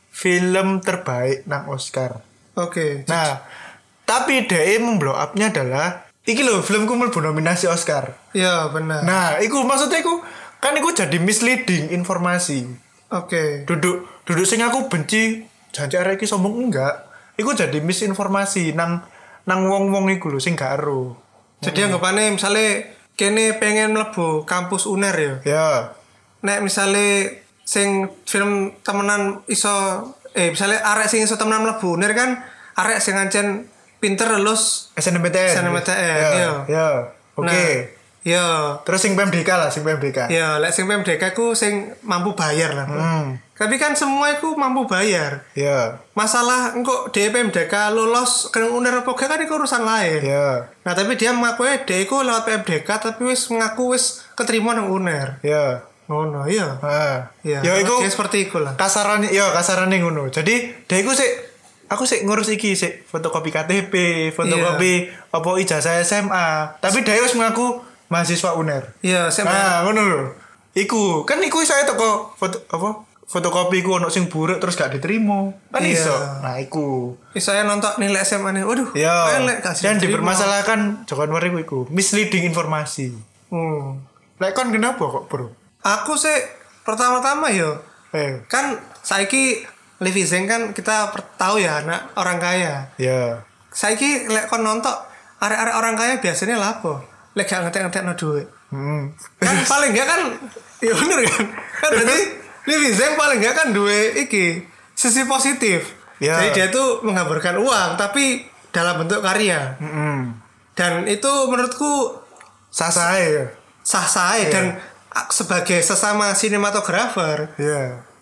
film terbaik nang Oscar. Oke. Nah, tapi dia memblow up-nya adalah iki lho filmku mlebu nominasi Oscar. Ya benar. Nah, iku maksudnya iku kan iku jadi misleading informasi. Oke. Duduk duduk sing aku benci janji arek iki sombong enggak. Iku jadi misinformasi nang nang wong-wong iku lho sing gak ero. Jadi anggapannya misalnya kene pengen mlebu kampus U N E R ya. Ya. Nek misalnya sing film temenan iso eh misalnya arek sing iso temenan mlebu U N E R kan arek sing ancen pinter lulus S N M P T N. S N M P T N, Ya. iya. Ya. Oke. Nah, ya. Terus sing P M D K lah, sing P M D K. Ya, lek sing P M D K ku sing mampu bayar lah. Bro. Hmm. Tapi kan semua itu mampu bayar. Ya. Masalah engko D P M D K lulus ke U N E R apa gak kan itu urusan lain. Ya. Nah, tapi dia mengaku dia iku lewat P M D K tapi wis mengaku wis keterima nang U N E R. Ya. Ngono, iya. Ah. Iya. Ya iku dia seperti iku lah. kasaran ya kasaran ngono. Jadi dia iku sik aku sik ngurus iki sik fotokopi K T P, fotokopi apa ijazah S M A. Tapi dia wis mengaku mahasiswa U N E R. Iya, saya Nah, ngono lho. Iku, kan iku saya toko foto apa? Fotokopi ku ono sing buruk terus gak diterima. Kan Iya. iso. Nah, iku. saya nonton nilai S M A nih. Waduh. Ya. elek, kasih Dan diterima. dipermasalahkan Joko Anwar iku iku misleading informasi. Hmm. Lek kon kenapa kok, Bro? Aku sih pertama-tama yo Eh, kan saiki Lee Vizay kan kita per- tahu ya anak orang kaya. ya. Saiki lek kon nonton arek-arek orang kaya biasanya lapo. Lek gak ngetek-ngetek no duit. Hmm. Kan paling enggak kan ya bener kan. Kan berarti Lee Vizay paling enggak kan duwe iki sisi positif. Ya. Jadi dia tuh menggambarkan uang tapi dalam bentuk karya. Mm-mm. Dan itu menurutku Sah-sah ya. sah-sah dan a- sebagai sesama sinematografer Ya.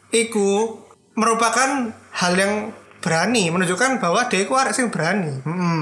iku merupakan hal yang berani, menunjukkan bahwa dia iku arek sing berani. Heeh.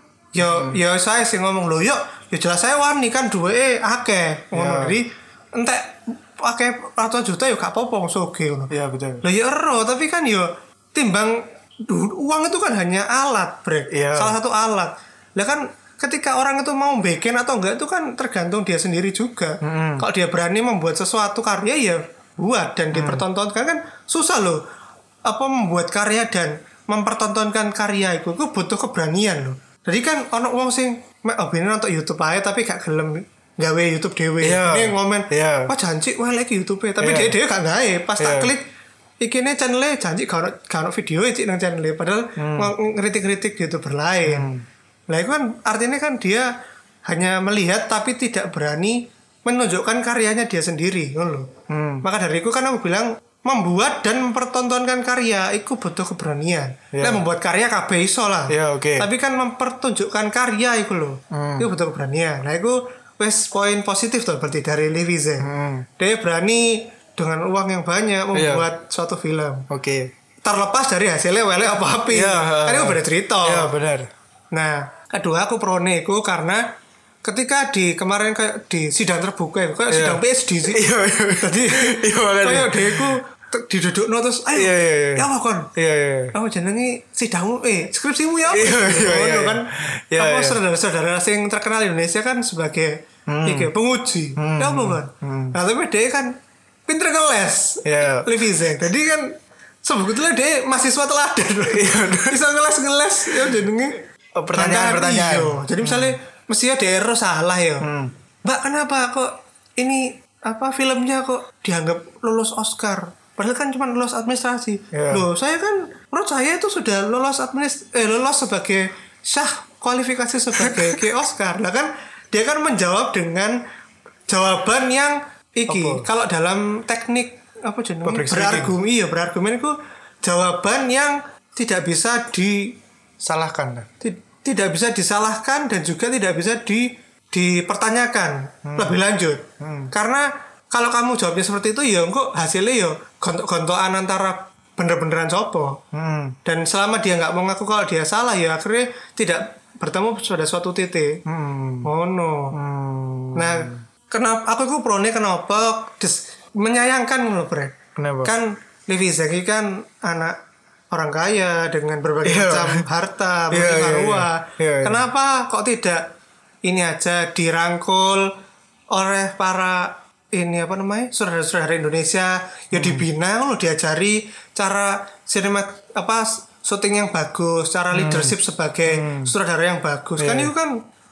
Yo yo saya sih ngomong lho, yo yo jelas saya wani kan duwe akeh. Ngono jadi entek akeh ratusan juta yo gak apa-apa wong soge ngono. Iya betul. Lah yo ero, tapi kan yo timbang duh, uang itu kan hanya alat, Brek. Iya. Salah satu alat. Lah kan ketika orang itu mau bikin atau enggak itu kan tergantung dia sendiri juga. Mm-hmm. Kalau dia berani membuat sesuatu karya ya buat dan dipertontonkan kan susah loh. Apa membuat karya dan mempertontonkan karya itu itu butuh keberanian loh. Jadi kan ono wong sing mek obene nonton YouTube ae tapi gak gelem gawe YouTube dhewe. Yeah. Ini ngomen, Yeah. "Wah janji wae lagi YouTube tapi Yeah. dia dhewe gak gawe." Pas Yeah. tak klik ikine channel janji gak ono gak ono video cik nang channel padahal hmm. ngeritik-ngeritik YouTuber lain. Hmm. Lah itu kan artinya kan dia hanya melihat tapi tidak berani menunjukkan karyanya dia sendiri, ngono lho. Hmm. Maka dari itu kan aku bilang membuat dan mempertontonkan karya itu butuh keberanian. Yeah. Nah, membuat karya kabeh iso lah. Yeah, okay. Tapi kan mempertunjukkan karya itu loh. Hmm. Itu butuh keberanian. Nah, itu wes poin positif tuh berarti dari Levi Zeng. Hmm. Dia berani dengan uang yang banyak membuat yeah. suatu film. Oke. Okay. Terlepas dari hasilnya welek apa api. Yeah, kan itu beda cerita. Iya, yeah, benar. Nah, kedua aku pro nego karena ketika di kemarin kayak di sidang terbuka kayak yeah. sidang P S D sih. Iya, iya. Tadi iya makanya. Kayak deku didudukno terus ayo. Iya, iya, iya. Ya apa kon? Iya, iya. Apa jenenge sidangmu eh skripsimu ya apa? Iya, iya, iya. kan. Iya, apa iya. saudara-saudara sing terkenal di Indonesia kan sebagai hmm. iki penguji. Hmm. Ya apa kan? Hmm. Nah, tapi dia kan pinter ngeles. Iya. Levi Zeng. Jadi kan sebetulnya dia mahasiswa teladan. Iya. Bisa ngeles-ngeles ya jenenge oh, pertanyaan-pertanyaan. Iyo. Jadi misalnya hmm. mestinya daerah salah ya. Hmm. Mbak kenapa kok ini apa filmnya kok dianggap lulus Oscar? Padahal kan cuma lulus administrasi. Yeah. Loh, saya kan menurut saya itu sudah lulus administ eh lulus sebagai syah kualifikasi sebagai ke Oscar. Lah kan dia kan menjawab dengan jawaban yang iki. Kalau dalam teknik apa jenis berargumen iya berargumen itu jawaban yang tidak bisa disalahkan. Tidak bisa disalahkan dan juga tidak bisa di dipertanyakan hmm. lebih lanjut. Hmm. Karena kalau kamu jawabnya seperti itu ya kok hasilnya ya gontok-gontokan antara bener-beneran sopo. Hmm. Dan selama dia nggak mau ngaku kalau dia salah ya akhirnya tidak bertemu pada suatu titik. Hmm. Oh no. Hmm. Nah, kenapa aku itu pro-nya kenapa Des, menyayangkan loh, Bre. Kenapa? Kan Levi Zeng kan anak orang kaya dengan berbagai yeah. macam harta, yeah, yeah, yeah, yeah. yeah, yeah. Kenapa kok tidak ini aja dirangkul oleh para ini apa namanya saudara-saudara Indonesia ya hmm. dibina loh diajari cara sinema apa syuting yang bagus cara hmm. leadership sebagai hmm. sutradara yang bagus yeah. kan itu kan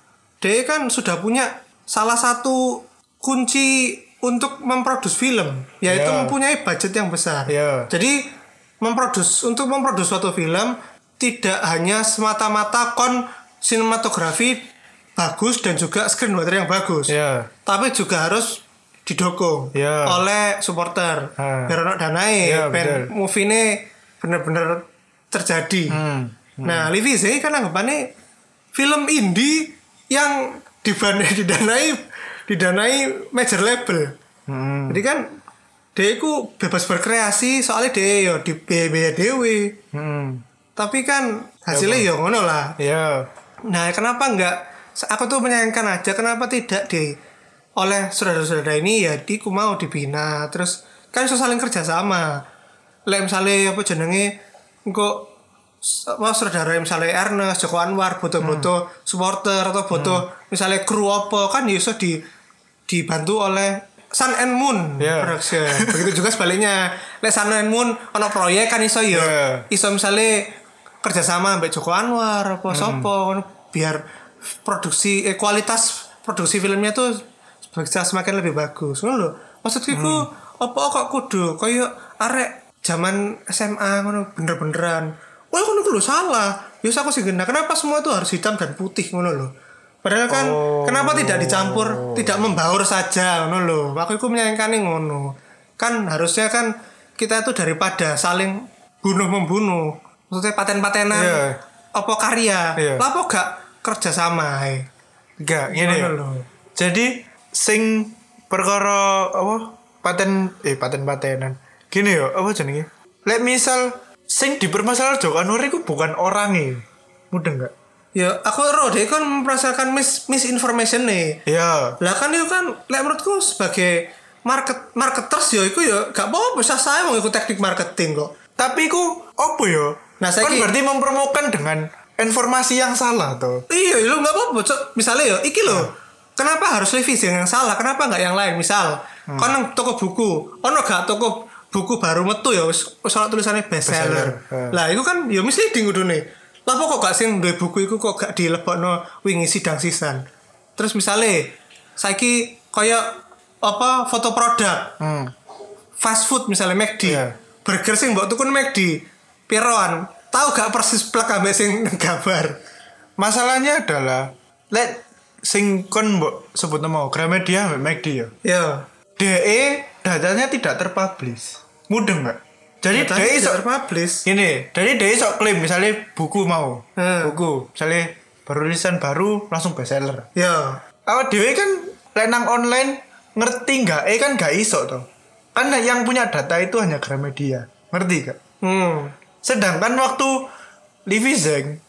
dia kan sudah punya salah satu kunci untuk memproduksi film yaitu yeah. mempunyai budget yang besar yeah. jadi memproduksi untuk memproduksi suatu film tidak hanya semata-mata kon sinematografi bagus dan juga screenwriter yang bagus yeah. tapi juga harus didukung yeah. oleh supporter uh. biar ono danae yeah, ben movie ini benar-benar terjadi. Hmm. Hmm. Nah, Levi Zeng kan anggapannya film indie yang dibanai didanai didanai major label. Hmm. Jadi kan dia itu bebas berkreasi soalnya dia yo di biaya dewe. Hmm. Tapi kan hasilnya ya, yo ngono lah. Yeah. Nah, kenapa enggak aku tuh menyayangkan aja kenapa tidak di oleh saudara-saudara ini ya diku mau dibina terus kan iso saling kerja sama. Lek misale apa jenenge engko apa saudara misalnya Ernest, Joko Anwar butuh-butuh hmm. supporter atau butuh hmm. misalnya kru apa kan ya iso di dibantu oleh Sun and Moon yeah. production. Begitu juga sebaliknya. Lek Sun and Moon ono proyek kan iso ya yeah. iso misalnya kerja sama mbek Joko Anwar apa hmm. sopo biar produksi eh, kualitas produksi filmnya tuh bisa semakin lebih bagus ngono lho. Maksudku hmm. apa kok kudu koyo arek zaman S M A ngono bener-beneran. Wah ngono lho salah. Ya aku sih gena kenapa semua itu harus hitam dan putih ngono lho. Padahal kan oh. kenapa tidak dicampur, tidak membaur saja ngono lho. Aku iku menyayangkan ngono. Kan harusnya kan kita itu daripada saling bunuh-membunuh. Maksudnya paten-patenan yeah. apa karya. Yeah. Lah apa gak kerja sama ae. Enggak, ngene lho. Jadi sing perkara apa paten eh paten-patenan gini yo, apa jenenge? Lek misal sing dipermasalahkan Joko Anwar iku bukan orangnya. Mudah enggak? Ya aku ero deh kan merasakan mis misinformation nih. Ya. Lah kan itu kan lek menurutku sebagai market marketers ya iku ya gak apa-apa bisa saya mau ikut teknik marketing kok. Tapi iku apa ya? Nah, saya kan ki- berarti mempromokan dengan informasi yang salah toh. Iya, lu nggak apa-apa. Cok. Misalnya ya, iki loh. Kenapa harus revisi yang salah? Kenapa nggak yang lain? Misal, hmm. kon nang toko buku, ono gak toko buku baru metu ya, wis wis ana tulisannya bestseller. Bestseller. Lah, itu kan ya misleading kudune. Lah kok gak sing duwe buku iku kok gak dilebokno wingi sidang sisan. Terus misalnya, saiki kaya apa foto produk, Hmm. fast food misalnya McD, Iya. burger sing mbok tuku McD, piroan? Tahu gak persis plek ambek sing gambar? Masalahnya adalah lek sing kon mbok sebut nama Gramedia mbek McD ya. Ya. D E datanya tidak terpublish. Mudeng enggak? Jadi D E sok terpublish. ini, dari D E sok klaim misalnya buku mau. Hmm. Buku, misalnya baru rilisan baru langsung bestseller. Ya. Awak dhewe kan lek nang online ngerti enggak? Eh kan gak iso toh. Kan yang punya data itu hanya Gramedia. Ngerti gak? Hmm. Sedangkan waktu Livi Zeng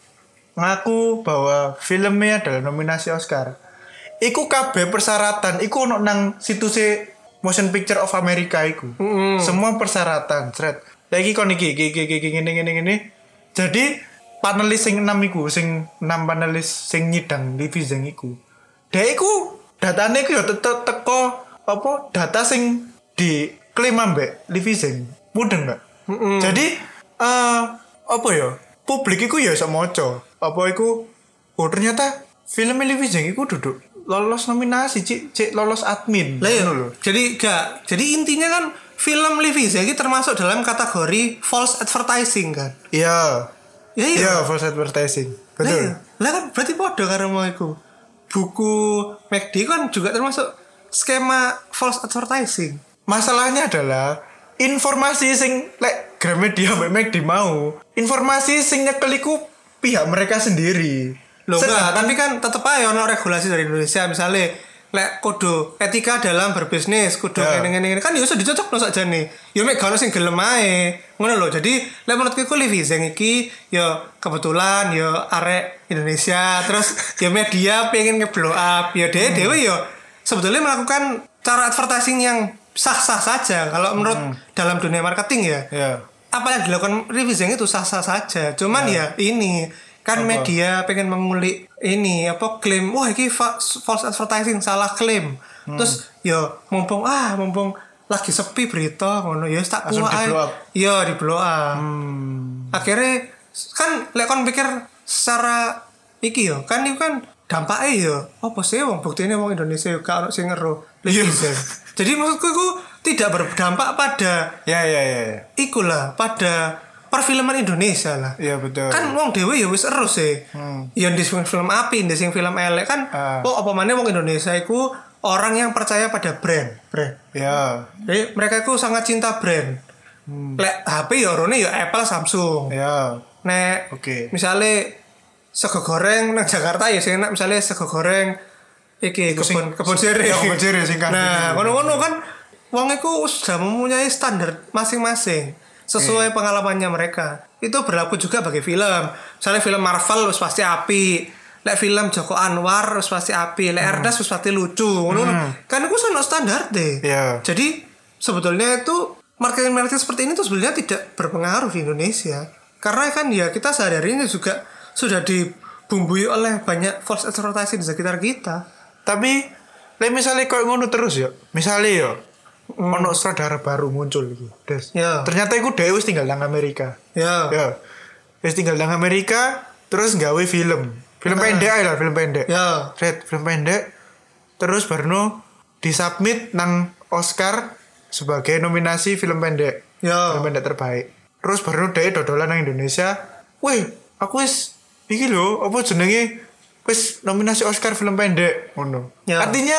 ngaku bahwa filmnya adalah nominasi Oscar. Iku kabeh persyaratan, iku ono nang situs Motion Picture of America iku. Mm-hmm. Semua persyaratan, thread. Lagi kon iki iki iki iki ngene ngene ngene. Jadi panelis sing enam iku, sing enam panelis sing nyidang Livi Zeng iku. Dek iku datane iku ya tetep teko apa data sing diklaim ambek Livi Zeng. Mudeng enggak? Mm-hmm. Jadi eh apa ya? Publik iku ya iso maca. Apa iku? Oh ternyata film Livi Zeng iku duduk lolos nominasi, Cik, Cik lolos admin. Lah ya, Ngono lho. jadi gak. Jadi intinya kan film Livi Zeng ini termasuk dalam kategori false advertising kan. Iya. Ya iya. Iya, false advertising. Lah, Betul. iya. Lah kan berarti podo karo mau iku. Buku McD kan juga termasuk skema false advertising. Masalahnya adalah informasi sing lek Gramedia mbek McD mau, informasi sing nyekel iku pihak mereka sendiri. Loh enggak, Sedangkan- tapi kan tetep aja ono regulasi dari Indonesia misalnya lek kudu etika dalam berbisnis kudu Ya. ngene-ngene kan ya usah dicocok no sakjane. Ya mek gak ono sing gelem ae. Ngono lho. Jadi lek menurutku ku Livi Zeng iki ya kebetulan ya arek Indonesia terus ya media pengen nge-blow up ya dhewe dhewe ya sebetulnya melakukan cara advertising yang sah-sah saja kalau menurut hmm. dalam dunia marketing ya. Ya. Apa yang dilakukan Livi Zeng itu sah-sah saja. Cuman ya, ya ini kan apa? Media pengen mengulik ini apa klaim wah ini fa- false advertising salah klaim. Hmm. Terus ya mumpung ah mumpung lagi sepi berita ngono ya tak kuat ae. Iya di blow up. Hmm. Akhirnya kan lek kon pikir secara iki yo kan itu kan dampaknya yo apa sih wong buktine wong Indonesia yo gak ono sing ngero. Livi Zeng. Jadi maksudku itu tidak berdampak pada Ya ya ya. ya. ikulah pada perfilman Indonesia lah. Iya betul. Kan wong dhewe ya wis ero sih. Hmm. Ya di film api, di film elek kan. Uh. Oh apa maneh wong Indonesia iku orang yang percaya pada brand, brand. Ya. Jadi mereka itu sangat cinta brand. Hmm. Lek H P ya orone ya Apple, Samsung. Ya. Nek oke. Okay. Misale sego goreng nang Jakarta ya sing enak misale sego goreng iki kebun kebun sirih. Ya kebun sirih sing kan. Nah, ngono-ngono kan wong iku sudah mempunyai standar masing-masing sesuai okay. pengalamannya mereka. Itu berlaku juga bagi film. Misalnya film Marvel harus pasti api. Lek film Joko Anwar harus pasti api. Lek hmm. Ernest harus pasti lucu. Hmm. Kan itu sono standar deh. Yeah. Jadi sebetulnya itu marketing-marketing seperti ini tuh sebenarnya tidak berpengaruh di Indonesia. Karena kan ya kita sehari-harinya juga sudah dibumbui oleh banyak false advertising di sekitar kita. Tapi lek misalnya kau ngono terus ya. Misalnya ya Hmm. ono sutradara baru muncul iki. Des. Ya. Ternyata iku dhewe wis tinggal nang Amerika. Ya. Ya. Wis tinggal nang Amerika terus gawe film. Film uh. pendek ae lah, film pendek. Ya. Red, film pendek. Terus baru disubmit nang Oscar sebagai nominasi film pendek. Ya. Film pendek terbaik. Terus baru dhewe dodolan nang Indonesia. Wih, aku wis iki lho, apa jenenge? Wis nominasi Oscar film pendek ngono. Ya. Artinya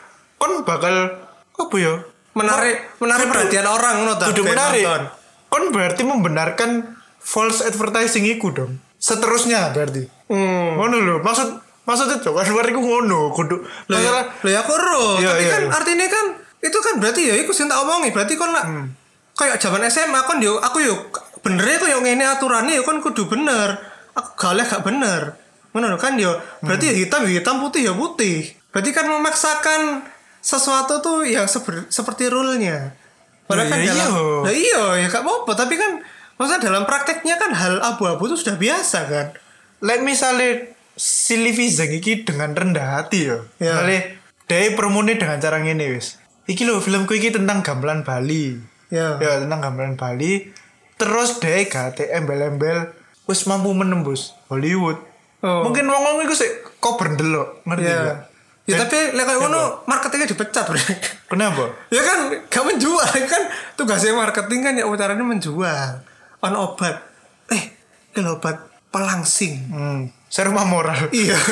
kon bakal apa ya? menarik oh, menarik kudu, perhatian orang ngono ta. Kudu menarik. Kon berarti membenarkan false advertising iku dong. Seterusnya berarti. Hmm. Ngono lho. Maksud maksudnya Joko Anwar iku ngono, kudu masalah. Lho ya aku ero, iya, tapi iya, kan iya. artinya kan itu kan berarti ya iku sing tak omongi, berarti kon lah hmm. kayak zaman S M A kan yo aku yo bener kok yo ngene aturannya yo kan kudu bener. Aku gak gak bener. Ngono kan yo. Berarti hmm. hitam ya hitam, putih ya putih. Berarti kan memaksakan sesuatu tuh yang seber, seperti rule-nya. Padahal kan dalam nah iya ya gak apa-apa, tapi kan maksudnya dalam prakteknya kan hal abu-abu itu sudah biasa kan. Like misalnya si Livi Zeng iki dengan rendah hati yo. Ya. Misalnya dia promoni dengan cara ngene wis. Iki lho filmku iki tentang gamelan Bali. Ya. Ya tentang gamelan Bali. Terus dia gak embel-embel wis mampu menembus Hollywood. Oh. Mungkin wong-wong iku sik kok berdelok, ngerti ya. gak? Ya Dan, tapi lek koyo ngono marketingnya dipecat, Bro. Kenapa? Ya kan gak menjual kan tugasnya marketing kan ya caranya menjual. On obat. Eh, ini obat pelangsing. Hmm. Serum moral. Iya.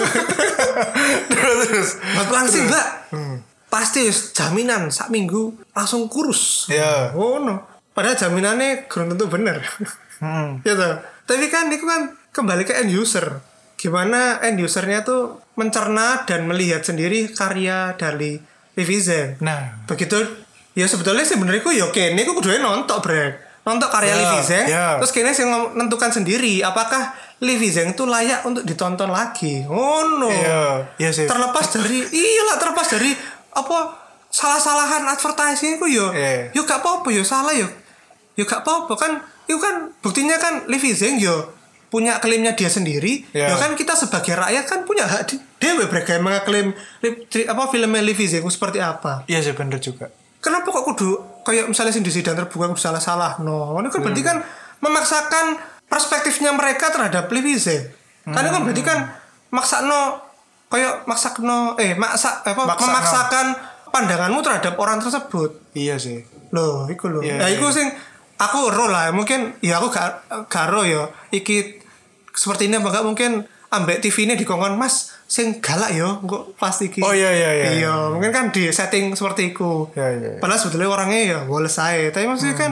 terus terus. Obat pelangsing, Mbak. Hmm. Pasti jaminan sak minggu langsung kurus. Iya. Oh no. Padahal jaminannya belum tentu benar. Hmm. Gitu. Tapi kan itu kan kembali ke end user. Gimana end usernya tuh mencerna dan melihat sendiri karya dari Livi Zeng. Nah, begitu ya sebetulnya sebenarnya ku yo kene ku kudu nonton brek. Nonton karya yeah, Livi Zeng, yeah. Terus kene sing menentukan sendiri apakah Livi Zeng itu layak untuk ditonton lagi. Oh no. Iya, yeah, yeah, sih. Terlepas dari iyalah terlepas dari apa salah-salahan advertising ku yo. Yeah. Yo gak apa-apa yo salah yo. Yo gak apa-apa kan. Itu kan buktinya kan Livi Zeng yo punya klaimnya dia sendiri. Yeah. Ya kan kita sebagai rakyat kan punya hak dewe bergaya mengaklaim apa filmnya Livi Zeng seperti apa. Iya sih bener juga. Kenapa kok kudu kayak misalnya sing di sidang terbuka kudu salah-salah. No, ini kan berarti kan memaksakan perspektifnya mereka terhadap Livi Zeng. Hmm. Karena kan berarti kan maksakno kayak maksakno eh maksa apa maksakno. Memaksakan pandanganmu terhadap orang tersebut. Iya sih. Loh, iku lho. Yeah, nah, iya. iku sing aku ro lah, mungkin ya aku gak garo ya. Iki seperti ini apa gak mungkin ambek T V ini dikongkon Mas sing galak yo kok pasti iki. Oh iya iya iya. Iya, mungkin kan di setting seperti itu. Iya iya. Padahal sebetulnya orangnya ya woles aja. Tapi maksudnya hmm. kan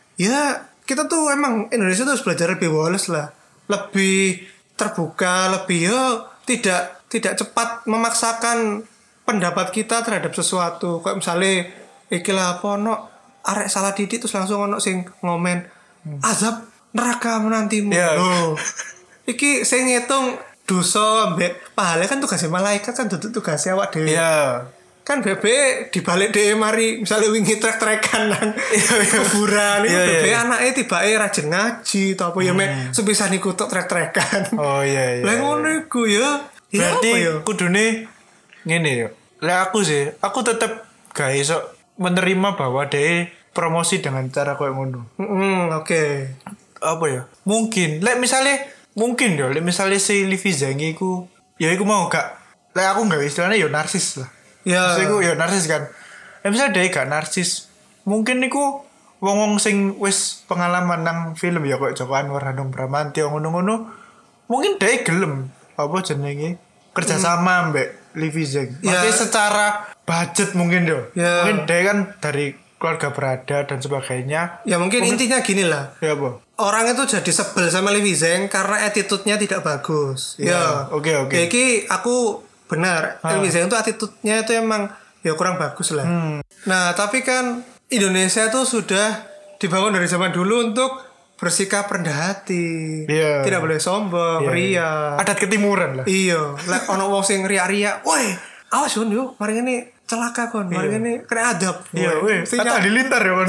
ya kita tuh emang Indonesia tuh harus belajar lebih woles lah. Lebih terbuka, lebih yo tidak tidak cepat memaksakan pendapat kita terhadap sesuatu. Kayak misalnya iki lah apa no arek salah didik terus langsung ono sing ngomen hmm. azab neraka menantimu. Yeah. Oh. Iki sing ngitung dosa mbek pahala kan tugasnya malaikat kan duduk tugasnya awak dhewe. Iya. Yeah. Kan bebe dibalik dhewe mari misalnya wingi trek-trekan nang kuburan iki yeah, bebe yeah. anake tibake rajin ngaji to apa ya mek sepisan iku tok trek-trekan. Oh iya iya. Lah ngono iku ya. Berarti kudune ngene yo. Lah aku sih, aku tetep gak iso menerima bahwa dia promosi dengan cara kayak ngono. Mm, oke. Okay. Apa ya? Mungkin, lek misalnya mungkin yo, lek misalnya si Livi Zeng iku, ya iku mau gak, lek aku gak istilahnya yo narsis lah. Ya. Yeah. Iku yo narsis kan. Lek misalnya dia gak narsis, mungkin iku wong-wong sing wis pengalaman nang film ya kayak Joko Anwar, Hanung Bramantyo ngono-ngono, mungkin dia gelem apa jenenge kerjasama hmm. mbek Livi Zeng. Maksudnya yeah. secara budget mungkin yo. Yeah. Mungkin dia kan dari keluarga berada dan sebagainya. Ya mungkin, mungkin intinya gini lah. Ya apa? Orang itu jadi sebel sama Livi Zeng karena attitude-nya tidak bagus. Ya. Oke oke. Okay, okay. Jadi aku benar. Ha. Livi Zeng itu attitude-nya itu emang ya kurang bagus lah. Hmm. Nah tapi kan Indonesia itu sudah dibangun dari zaman dulu untuk bersikap rendah hati. Yeah. Tidak boleh sombong, yeah. ria. Adat ketimuran lah. Iya. Lah ono wong sing ria-ria. Woi, awas Yun yuk, mari ini celaka kon, mari yeah. ini kena adab. Iya, weh. Kata dilintar ya kon.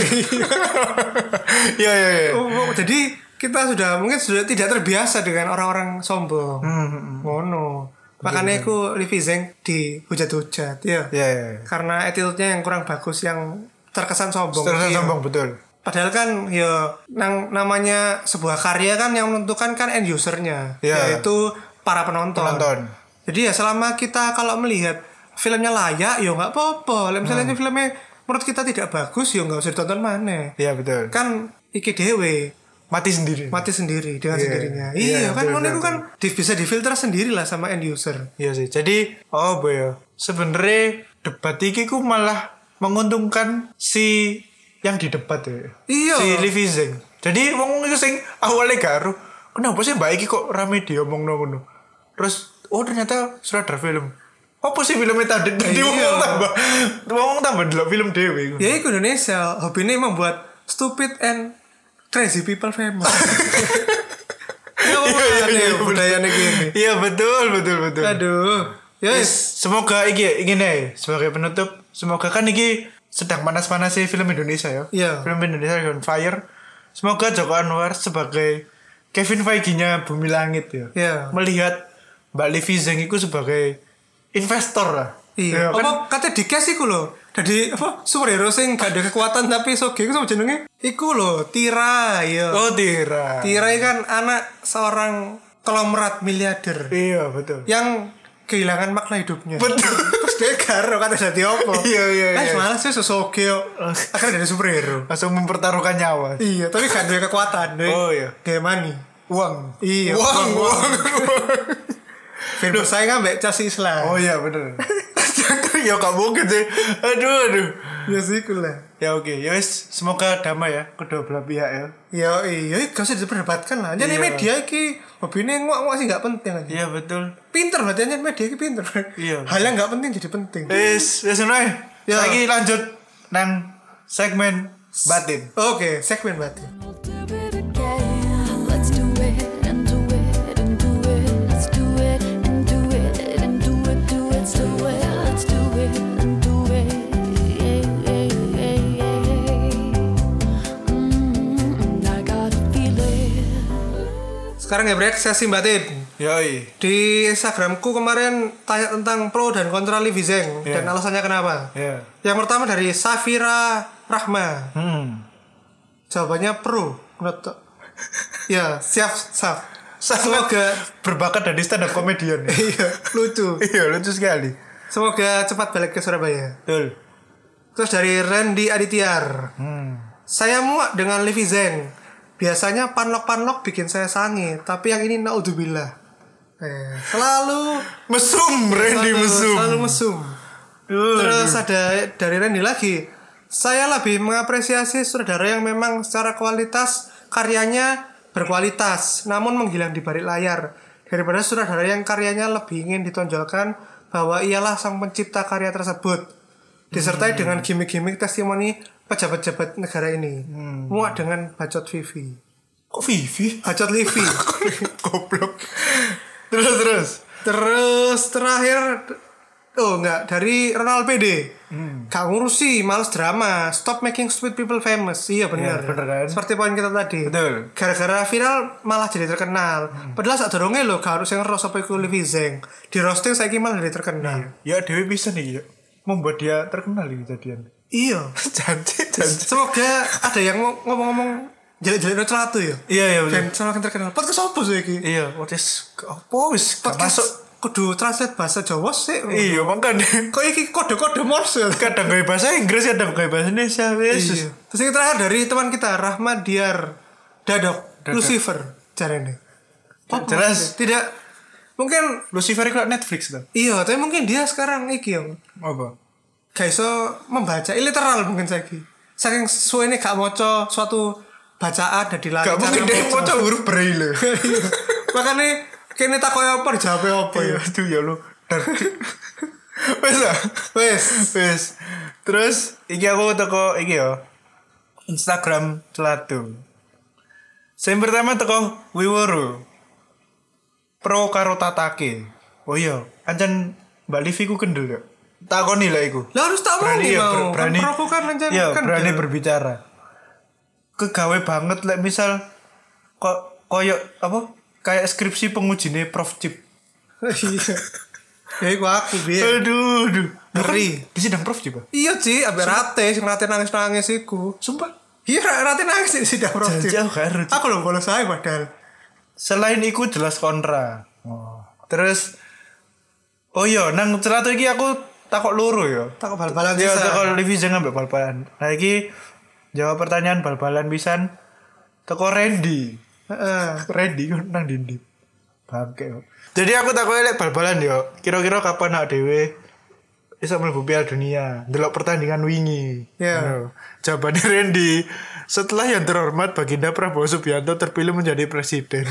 Iya iya iya. Jadi kita sudah mungkin sudah tidak terbiasa dengan orang-orang sombong. Hmm. Ngono. Makanya aku Livi Zeng dihujat-hujat, ya. Iya iya. Karena attitude-nya yang kurang bagus, yang terkesan sombong. Terkesan sombong betul. Padahal kan ya nang, namanya sebuah karya kan yang menentukan kan end usernya, yeah. yaitu para penonton. penonton. Jadi ya selama kita kalau melihat filmnya layak, ya nggak apa-apa. Misalnya hmm. filmnya menurut kita tidak bagus, ya nggak usah ditonton mana. Iya yeah, betul. Kan iki dewe mati sendiri. Mati sendiri dengan yeah. sendirinya. Iya yeah, kan betul, itu kan bisa difilter sendiri lah sama end user. Iya sih. Jadi oh boy ya. Sebenarnya debat iki ku malah menguntungkan si yang di debat ya. Iya. Si Livi Zeng. Jadi wong itu sing awalnya garu. Kenapa sih Mbak iki kok rame diomongno ngono. Terus oh ternyata sutradara film. Apa sih filmnya tadi? Jadi wong tambah wong tambah delok film dhewe. Ya iku Indonesia, hobine membuat stupid and crazy people famous. Ya apa budaya gini. Iya betul betul betul. Aduh. Ya Yes, semoga iki iki nih sebagai penutup, semoga kan iki sedang panas-panasnya film Indonesia ya. Iya. Film Indonesia on fire. Semoga Joko Anwar sebagai Kevin Feige-nya Bumi Langit ya. Iya. Melihat Mbak Livi Zeng itu sebagai investor lah. Iya. Ya, kan? Apa kata dikes iku lho. Jadi apa superhero sing gak ada kekuatan tapi soge iku sama jenenge? Iku lho, Tira ya. Oh, Tira. Tira kan anak seorang konglomerat miliarder. Iya, betul. Yang kehilangan makna hidupnya. Betul. Terus dia karo kata jadi apa? Iya, iya, Kan iya. malah sih sosoge yo. Akhirnya jadi superhero. Langsung mempertaruhkan nyawa. Iya, tapi gak ada kekuatan deh. Oh iya. Kayak money. Uang. Iya. Uang, uang. Biar bersaing ambek cas Islam. Oh iya, bener. Ya gak mungkin sih. Aduh, aduh. Ya sih lah. Ya oke, ya wis, semoga damai ya kedua belah pihak ya. Ya iya, gak usah diperdebatkan lah. Jadi Iya. media iki hobine ngok-ngok sih gak penting aja. Iya betul. Pinter berarti aja media iki pinter. Iya. Hal yang gak penting jadi penting. Wis, wis ngono ae. Ya. Saiki lanjut nang segmen batin. Oke, segmen batin. We'll do it again. Let's do it and do it and do it. Let's do it and do it and do it. Do it, do it. Let's do it and do it. Yeah, yeah, yeah, yeah. Mm, I got a feeling. Sekarang ya break sesi batin. Yoi. Di Instagramku kemarin tanya tentang pro dan kontra Livi Zeng Iya. dan alasannya kenapa. Ya. Yang pertama dari Safira Rahma. Hmm. Jawabannya pro. Menurut ya, siap, siap. Sangat Semoga berbakat dari stand up comedian. iya, lucu. Iya, lucu sekali. Semoga cepat balik ke Surabaya. Betul. Terus dari Randy Adityar. Hmm. Saya muak dengan Livi Zeng. Biasanya panlok-panlok bikin saya sange, tapi yang ini naudzubillah. Eh, selalu Mesum, Randy selalu, mesum. Selalu mesum. Aduh. Terus ada dari Randy lagi. Saya lebih mengapresiasi sutradara yang memang secara kualitas karyanya berkualitas, namun menghilang di balik layar, daripada sutradara yang karyanya lebih ingin ditonjolkan bahwa ialah sang pencipta karya tersebut, disertai Hmm. dengan gimmick-gimmick testimoni pejabat-pejabat negara ini. Hmm. Muak dengan bacot Vivi. Kok Vivi? Bacot Livi. Goblok. Terus terus. Terus terakhir, oh enggak, dari Ronald P D. Hmm. Gak ngurusi, males drama. Stop making stupid people famous. Iya benar. Iya, bener kan? Seperti poin kita tadi. Betul. Gara-gara viral malah jadi terkenal. Padahal saat dorongnya lo gak harus yang ngeros apa iku Livi Zeng. Di roasting saiki malah jadi terkenal. Ya Dewi bisa nih ya. Membuat dia terkenal ini jadian. Iya. Janji, janji. Semoga ada yang ngom- ngomong-ngomong jelek-jelek no celatu ya. Iya, iya betul. Dan semakin terkenal. Podcast apa sih iki? Iya, wis apa wis gak Podcast masuk. kudu translate bahasa Jawa sih. Iya, makanya Kok iki kode-kode Morse. kadang gaya bahasa Inggris, kadang gaya bahasa Indonesia. Wis. Iya. Terus yang terakhir dari teman kita Rahmat Diar Dadok, Dadok. Lucifer caranya. Jelas. Tidak mungkin Lucifer itu Netflix kan? iya, tapi mungkin dia sekarang iki yang Apa? gak iso membaca literal mungkin saiki. Saking suwene gak maca suatu bacaan dan dilancar. Gak mungkin dia mau coba huruf braille. Makanya kene takoki apa dijawab apa ya. Iya, itu ya lu. Wes lah. Wes. Wes. Terus iki aku teko iki ya. Instagram Celatu. Yang pertama teko Wiworo. Pro karo Tatake. Oh iya, ancen Mbak Livi ku kendel ya. Takoni lah iku. Lah harus tak Berani mau ya, mau. ber- berani. Kan Provo kan lancar Iya, kan berani dia. berbicara. Kegawe banget lek misal kok koyo apa? Kayak skripsi pengujine Prof Chip. Iya. Ya iku aku biar. Aduh, aduh. Ngeri. Di sidang Prof Chip. Iya sih, abe rate sing rate nangis-nangis iku. Sumpah. Iya, rate nangis di sidang Prof. Janji aku gak ngerti. Aku lho bolos saya padahal. Selain iku jelas kontra. Oh. Terus oh iya, nang Celatu iki aku takok loro ya. Tak bal-balan Ya, sisa. takok Livi Zeng ambek bal-balan. Nah iki jawab pertanyaan bal-balan pisan. Teko Randy. Heeh. Randy kan nang dindi. Bangke. Kok. Jadi aku takoki lek bal-balan yo. Kira-kira kapan awak dhewe iso mlebu Piala Dunia? Delok pertandingan wingi. Ya. Ngono. Jawabannya Randy, setelah yang terhormat Baginda Prabowo Subianto terpilih menjadi presiden.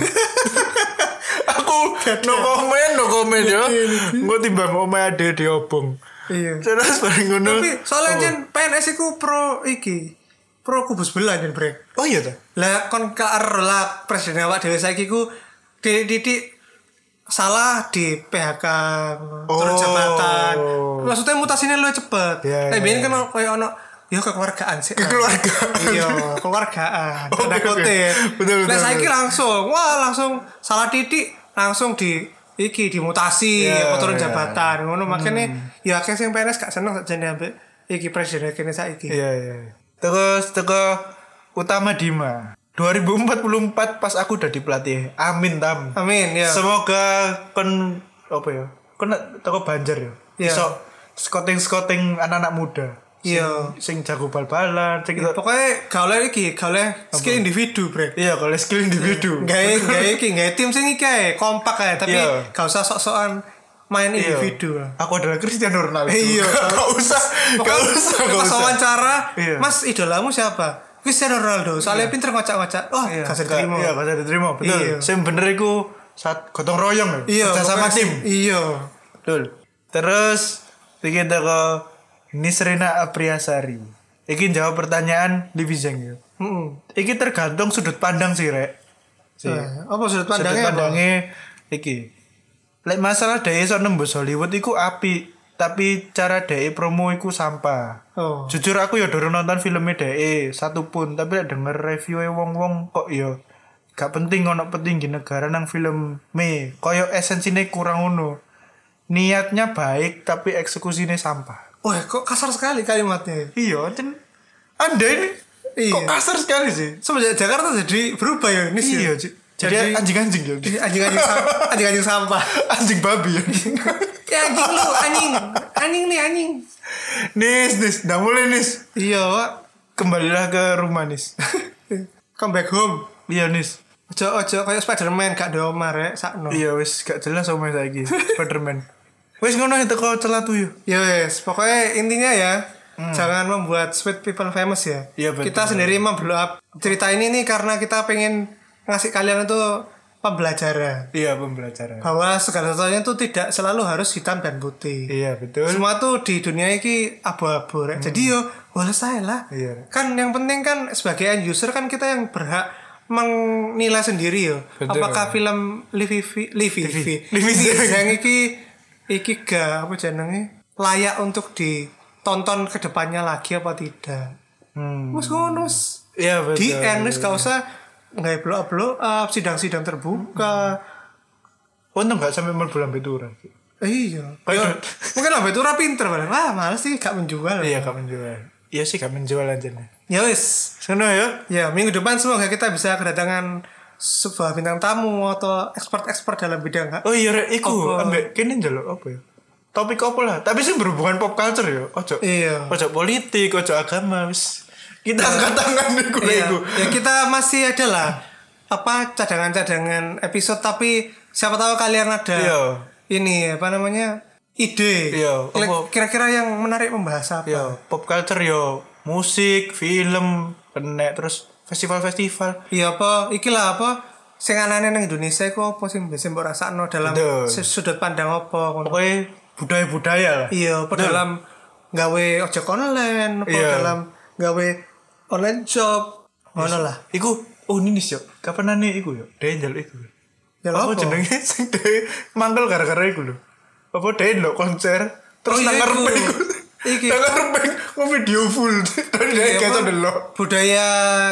Aku no komen, no komen yo. Engko timbang omahe ade diobong. Iya. Terus bareng ngono. Tapi soalnya oh. jen P N S iku pro iki. pro kubu sebelah jan brek. Oh iya ta. Lah kon karo lah presiden awak dhewe saiki ku dididik salah di P H K turun Oh. jabatan. Maksudnya mutasinya luwih cepet. Iya, Eh iya, biyen kan koyo ono ya kekeluargaan sih. Kekeluargaan. Iya, keluargaan. Oke, Tanda oke. kutip. Betul, betul, Lah saiki betul. langsung, wah langsung salah titik langsung di iki dimutasi Iya, apa turun iya. jabatan ngono makanya ya akeh sing P N S gak seneng sakjane ambek iki presiden kene saiki. Iya iya. Terus teko Utama Dima. dua ribu empat puluh empat pas aku udah di pelatih. Amin tam. Amin ya. Semoga kon apa ya? Kon teko Banjar ya. Iya. Iso scouting-scouting anak-anak muda. Iya. Sing jago bal-balan, sing Ya, pokoknya gaule iki, gaule skill individu, Bre. iya kalau skill individu. Gawe gawe iki, gawe tim sing iki ae, kompak ae, tapi Iya. gak usah sok-sokan main Iya. individu. lah. Aku adalah Cristiano Ronaldo. Iya. Gak usah. Gak Pokoknya usah. Gak pas usah. wawancara, Iya. Mas idolamu siapa? Cristiano Ronaldo. Soalnya pinter ngocak-ngocak. Oh, Iya, gak usah gak- diterima. Iya, gak usah diterima. Betul. Iya. Sing bener iku saat gotong royong ya. Iya, Kerja sama pokoknya tim. sih- Iya. Betul. Terus kita ke Nisrena Apriasari. Iki jawab pertanyaan Livi Zeng ya. Heeh. Iki tergantung sudut pandang sih, Rek. Si. Nah, apa sudut Sudut pandangnya? apa? pandangnya iki. Lek masalah dhek iso nembus Hollywood iku apik, tapi cara dhek promo iku sampah. Oh. Jujur aku ya durung nonton filmnya dhek satu pun, tapi lek denger review wong-wong kok ya gak penting ono petinggi negara nang film me, koyo esensine kurang ngono. Niatnya baik tapi eksekusinya sampah. Wah, kok kasar sekali kalimatnya. Iya, dan Anda ini Iya. kok kasar sekali sih. Semenjak Jakarta jadi berubah ya ini sih. Iya, Ci. jadi anjing-anjing ya. anjing-anjing sam- anjing-anjing sampah. Anjing babi ya. Ya anjing lu, anjing. Anjing nih anjing. Nis, Nis, udah mulai Nis. Iya, Pak. Kembalilah ke rumah Nis. Come back home. Iya Nis. Ojo ojo kayak Spiderman gak ada Omar ya sakno. Iya wis gak jelas sama saiki. Spiderman. Wis ngono itu kau celatu yuk. Ya wes, pokoknya intinya ya jangan membuat sweet people famous ya. Iya, betul. Kita sendiri memblow up cerita ini nih karena kita pengen ngasih kalian itu pembelajaran Iya pembelajaran. bahwa segala sesuatunya itu tidak selalu harus hitam dan putih. Iya betul. Semua tuh di dunia ini abu-abu rek. Jadi yo boleh saya lah. Iya. Kan yang penting kan sebagai end user kan kita yang berhak menilai sendiri yo. Betul. Apakah film Livi Livi Livi Livi yang iki iki gak apa jenenge layak untuk ditonton ke depannya lagi apa tidak. Hmm. Wes ngono wes. Iya betul. Di end wes gak usah nggak blow up blow up sidang-sidang terbuka. Untung gak sampai mlebu lambe turun. Eh, iya. Kayak- Ya, mungkin lah itu pinter padahal. Wah, males sih gak menjual. Iya gak menjual. Iya sih gak menjual aja nih. Ya wes. Sana ya. Ya, minggu depan semoga kita bisa kedatangan sebuah bintang tamu atau expert-expert dalam bidang hak. Oh iya rek, iku Apa? ambek kene njaluk apa ya? Topik apa lah, tapi sih berhubungan pop culture ya. Ojo. Iya. Ojo politik, ojo agama wis. Kita angkat tangan iku Iya. iku. Ya kita masih ada lah apa cadangan-cadangan episode tapi siapa tahu kalian ada Iya. ini apa namanya ide. Iya, Kira- apa? Kira-kira yang menarik membahas apa? Yo, pop culture yo, musik, film, kena terus festival-festival. Iya apa? Iki lah apa? Sing anane nang Indonesia iku apa sing biasa mbok rasakno dalam Betul. sudut pandang apa ngono. Pokoknya budaya-budaya lah. Iya, apa dalam gawe ojek online, apa Iya. dalam gawe online shop, ngono lah. Iku, oh ini nih yo. Kapan nane iku yo? Dengel iku. Ya Apa apa? jenenge sing de mangkel gara-gara iku lho. Apa deh lo konser terus Oh, iya, nang ngarepe iku. iku. Iki. Nang ngarepe video full. Tadi Iya, dia apa? keso delok. Budaya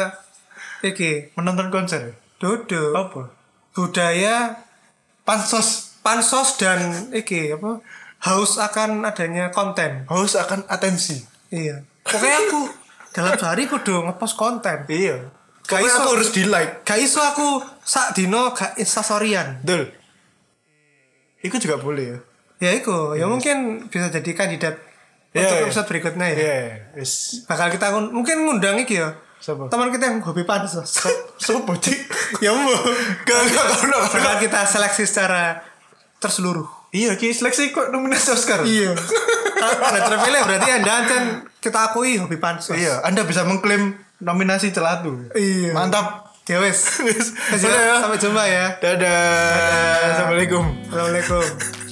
iki, Menonton konser. duduk. Apa? Budaya Pansos. pansos dan iki apa? Haus akan adanya konten. Haus akan atensi. Iya. Pokoknya aku dalam sehari kudu ngepost konten. Iya. Gak Pokoknya iso. aku harus di like. Gak iso aku sak dino gak instastoryan. Betul. Iku juga boleh ya. Ya iku, ya mungkin bisa jadi kandidat Iya, untuk iya. episode berikutnya ya. Iya, wis. Bakal kita ngun- mungkin ngundang iki ya. Siapa? Teman kita yang hobi pansos. Sopo cik? ya mau. Gak gak gak Bakal kita seleksi secara terseluruh. Iya, ki seleksi kok nominasi Oscar. Iya. Kalau Anda terpilih berarti Anda kan kita akui hobi pansos. Iya, Anda bisa mengklaim nominasi celatu. Iya. Mantap. Ya wes. Wis. Sampai jumpa ya. Dadah. Assalamualaikum. Assalamualaikum.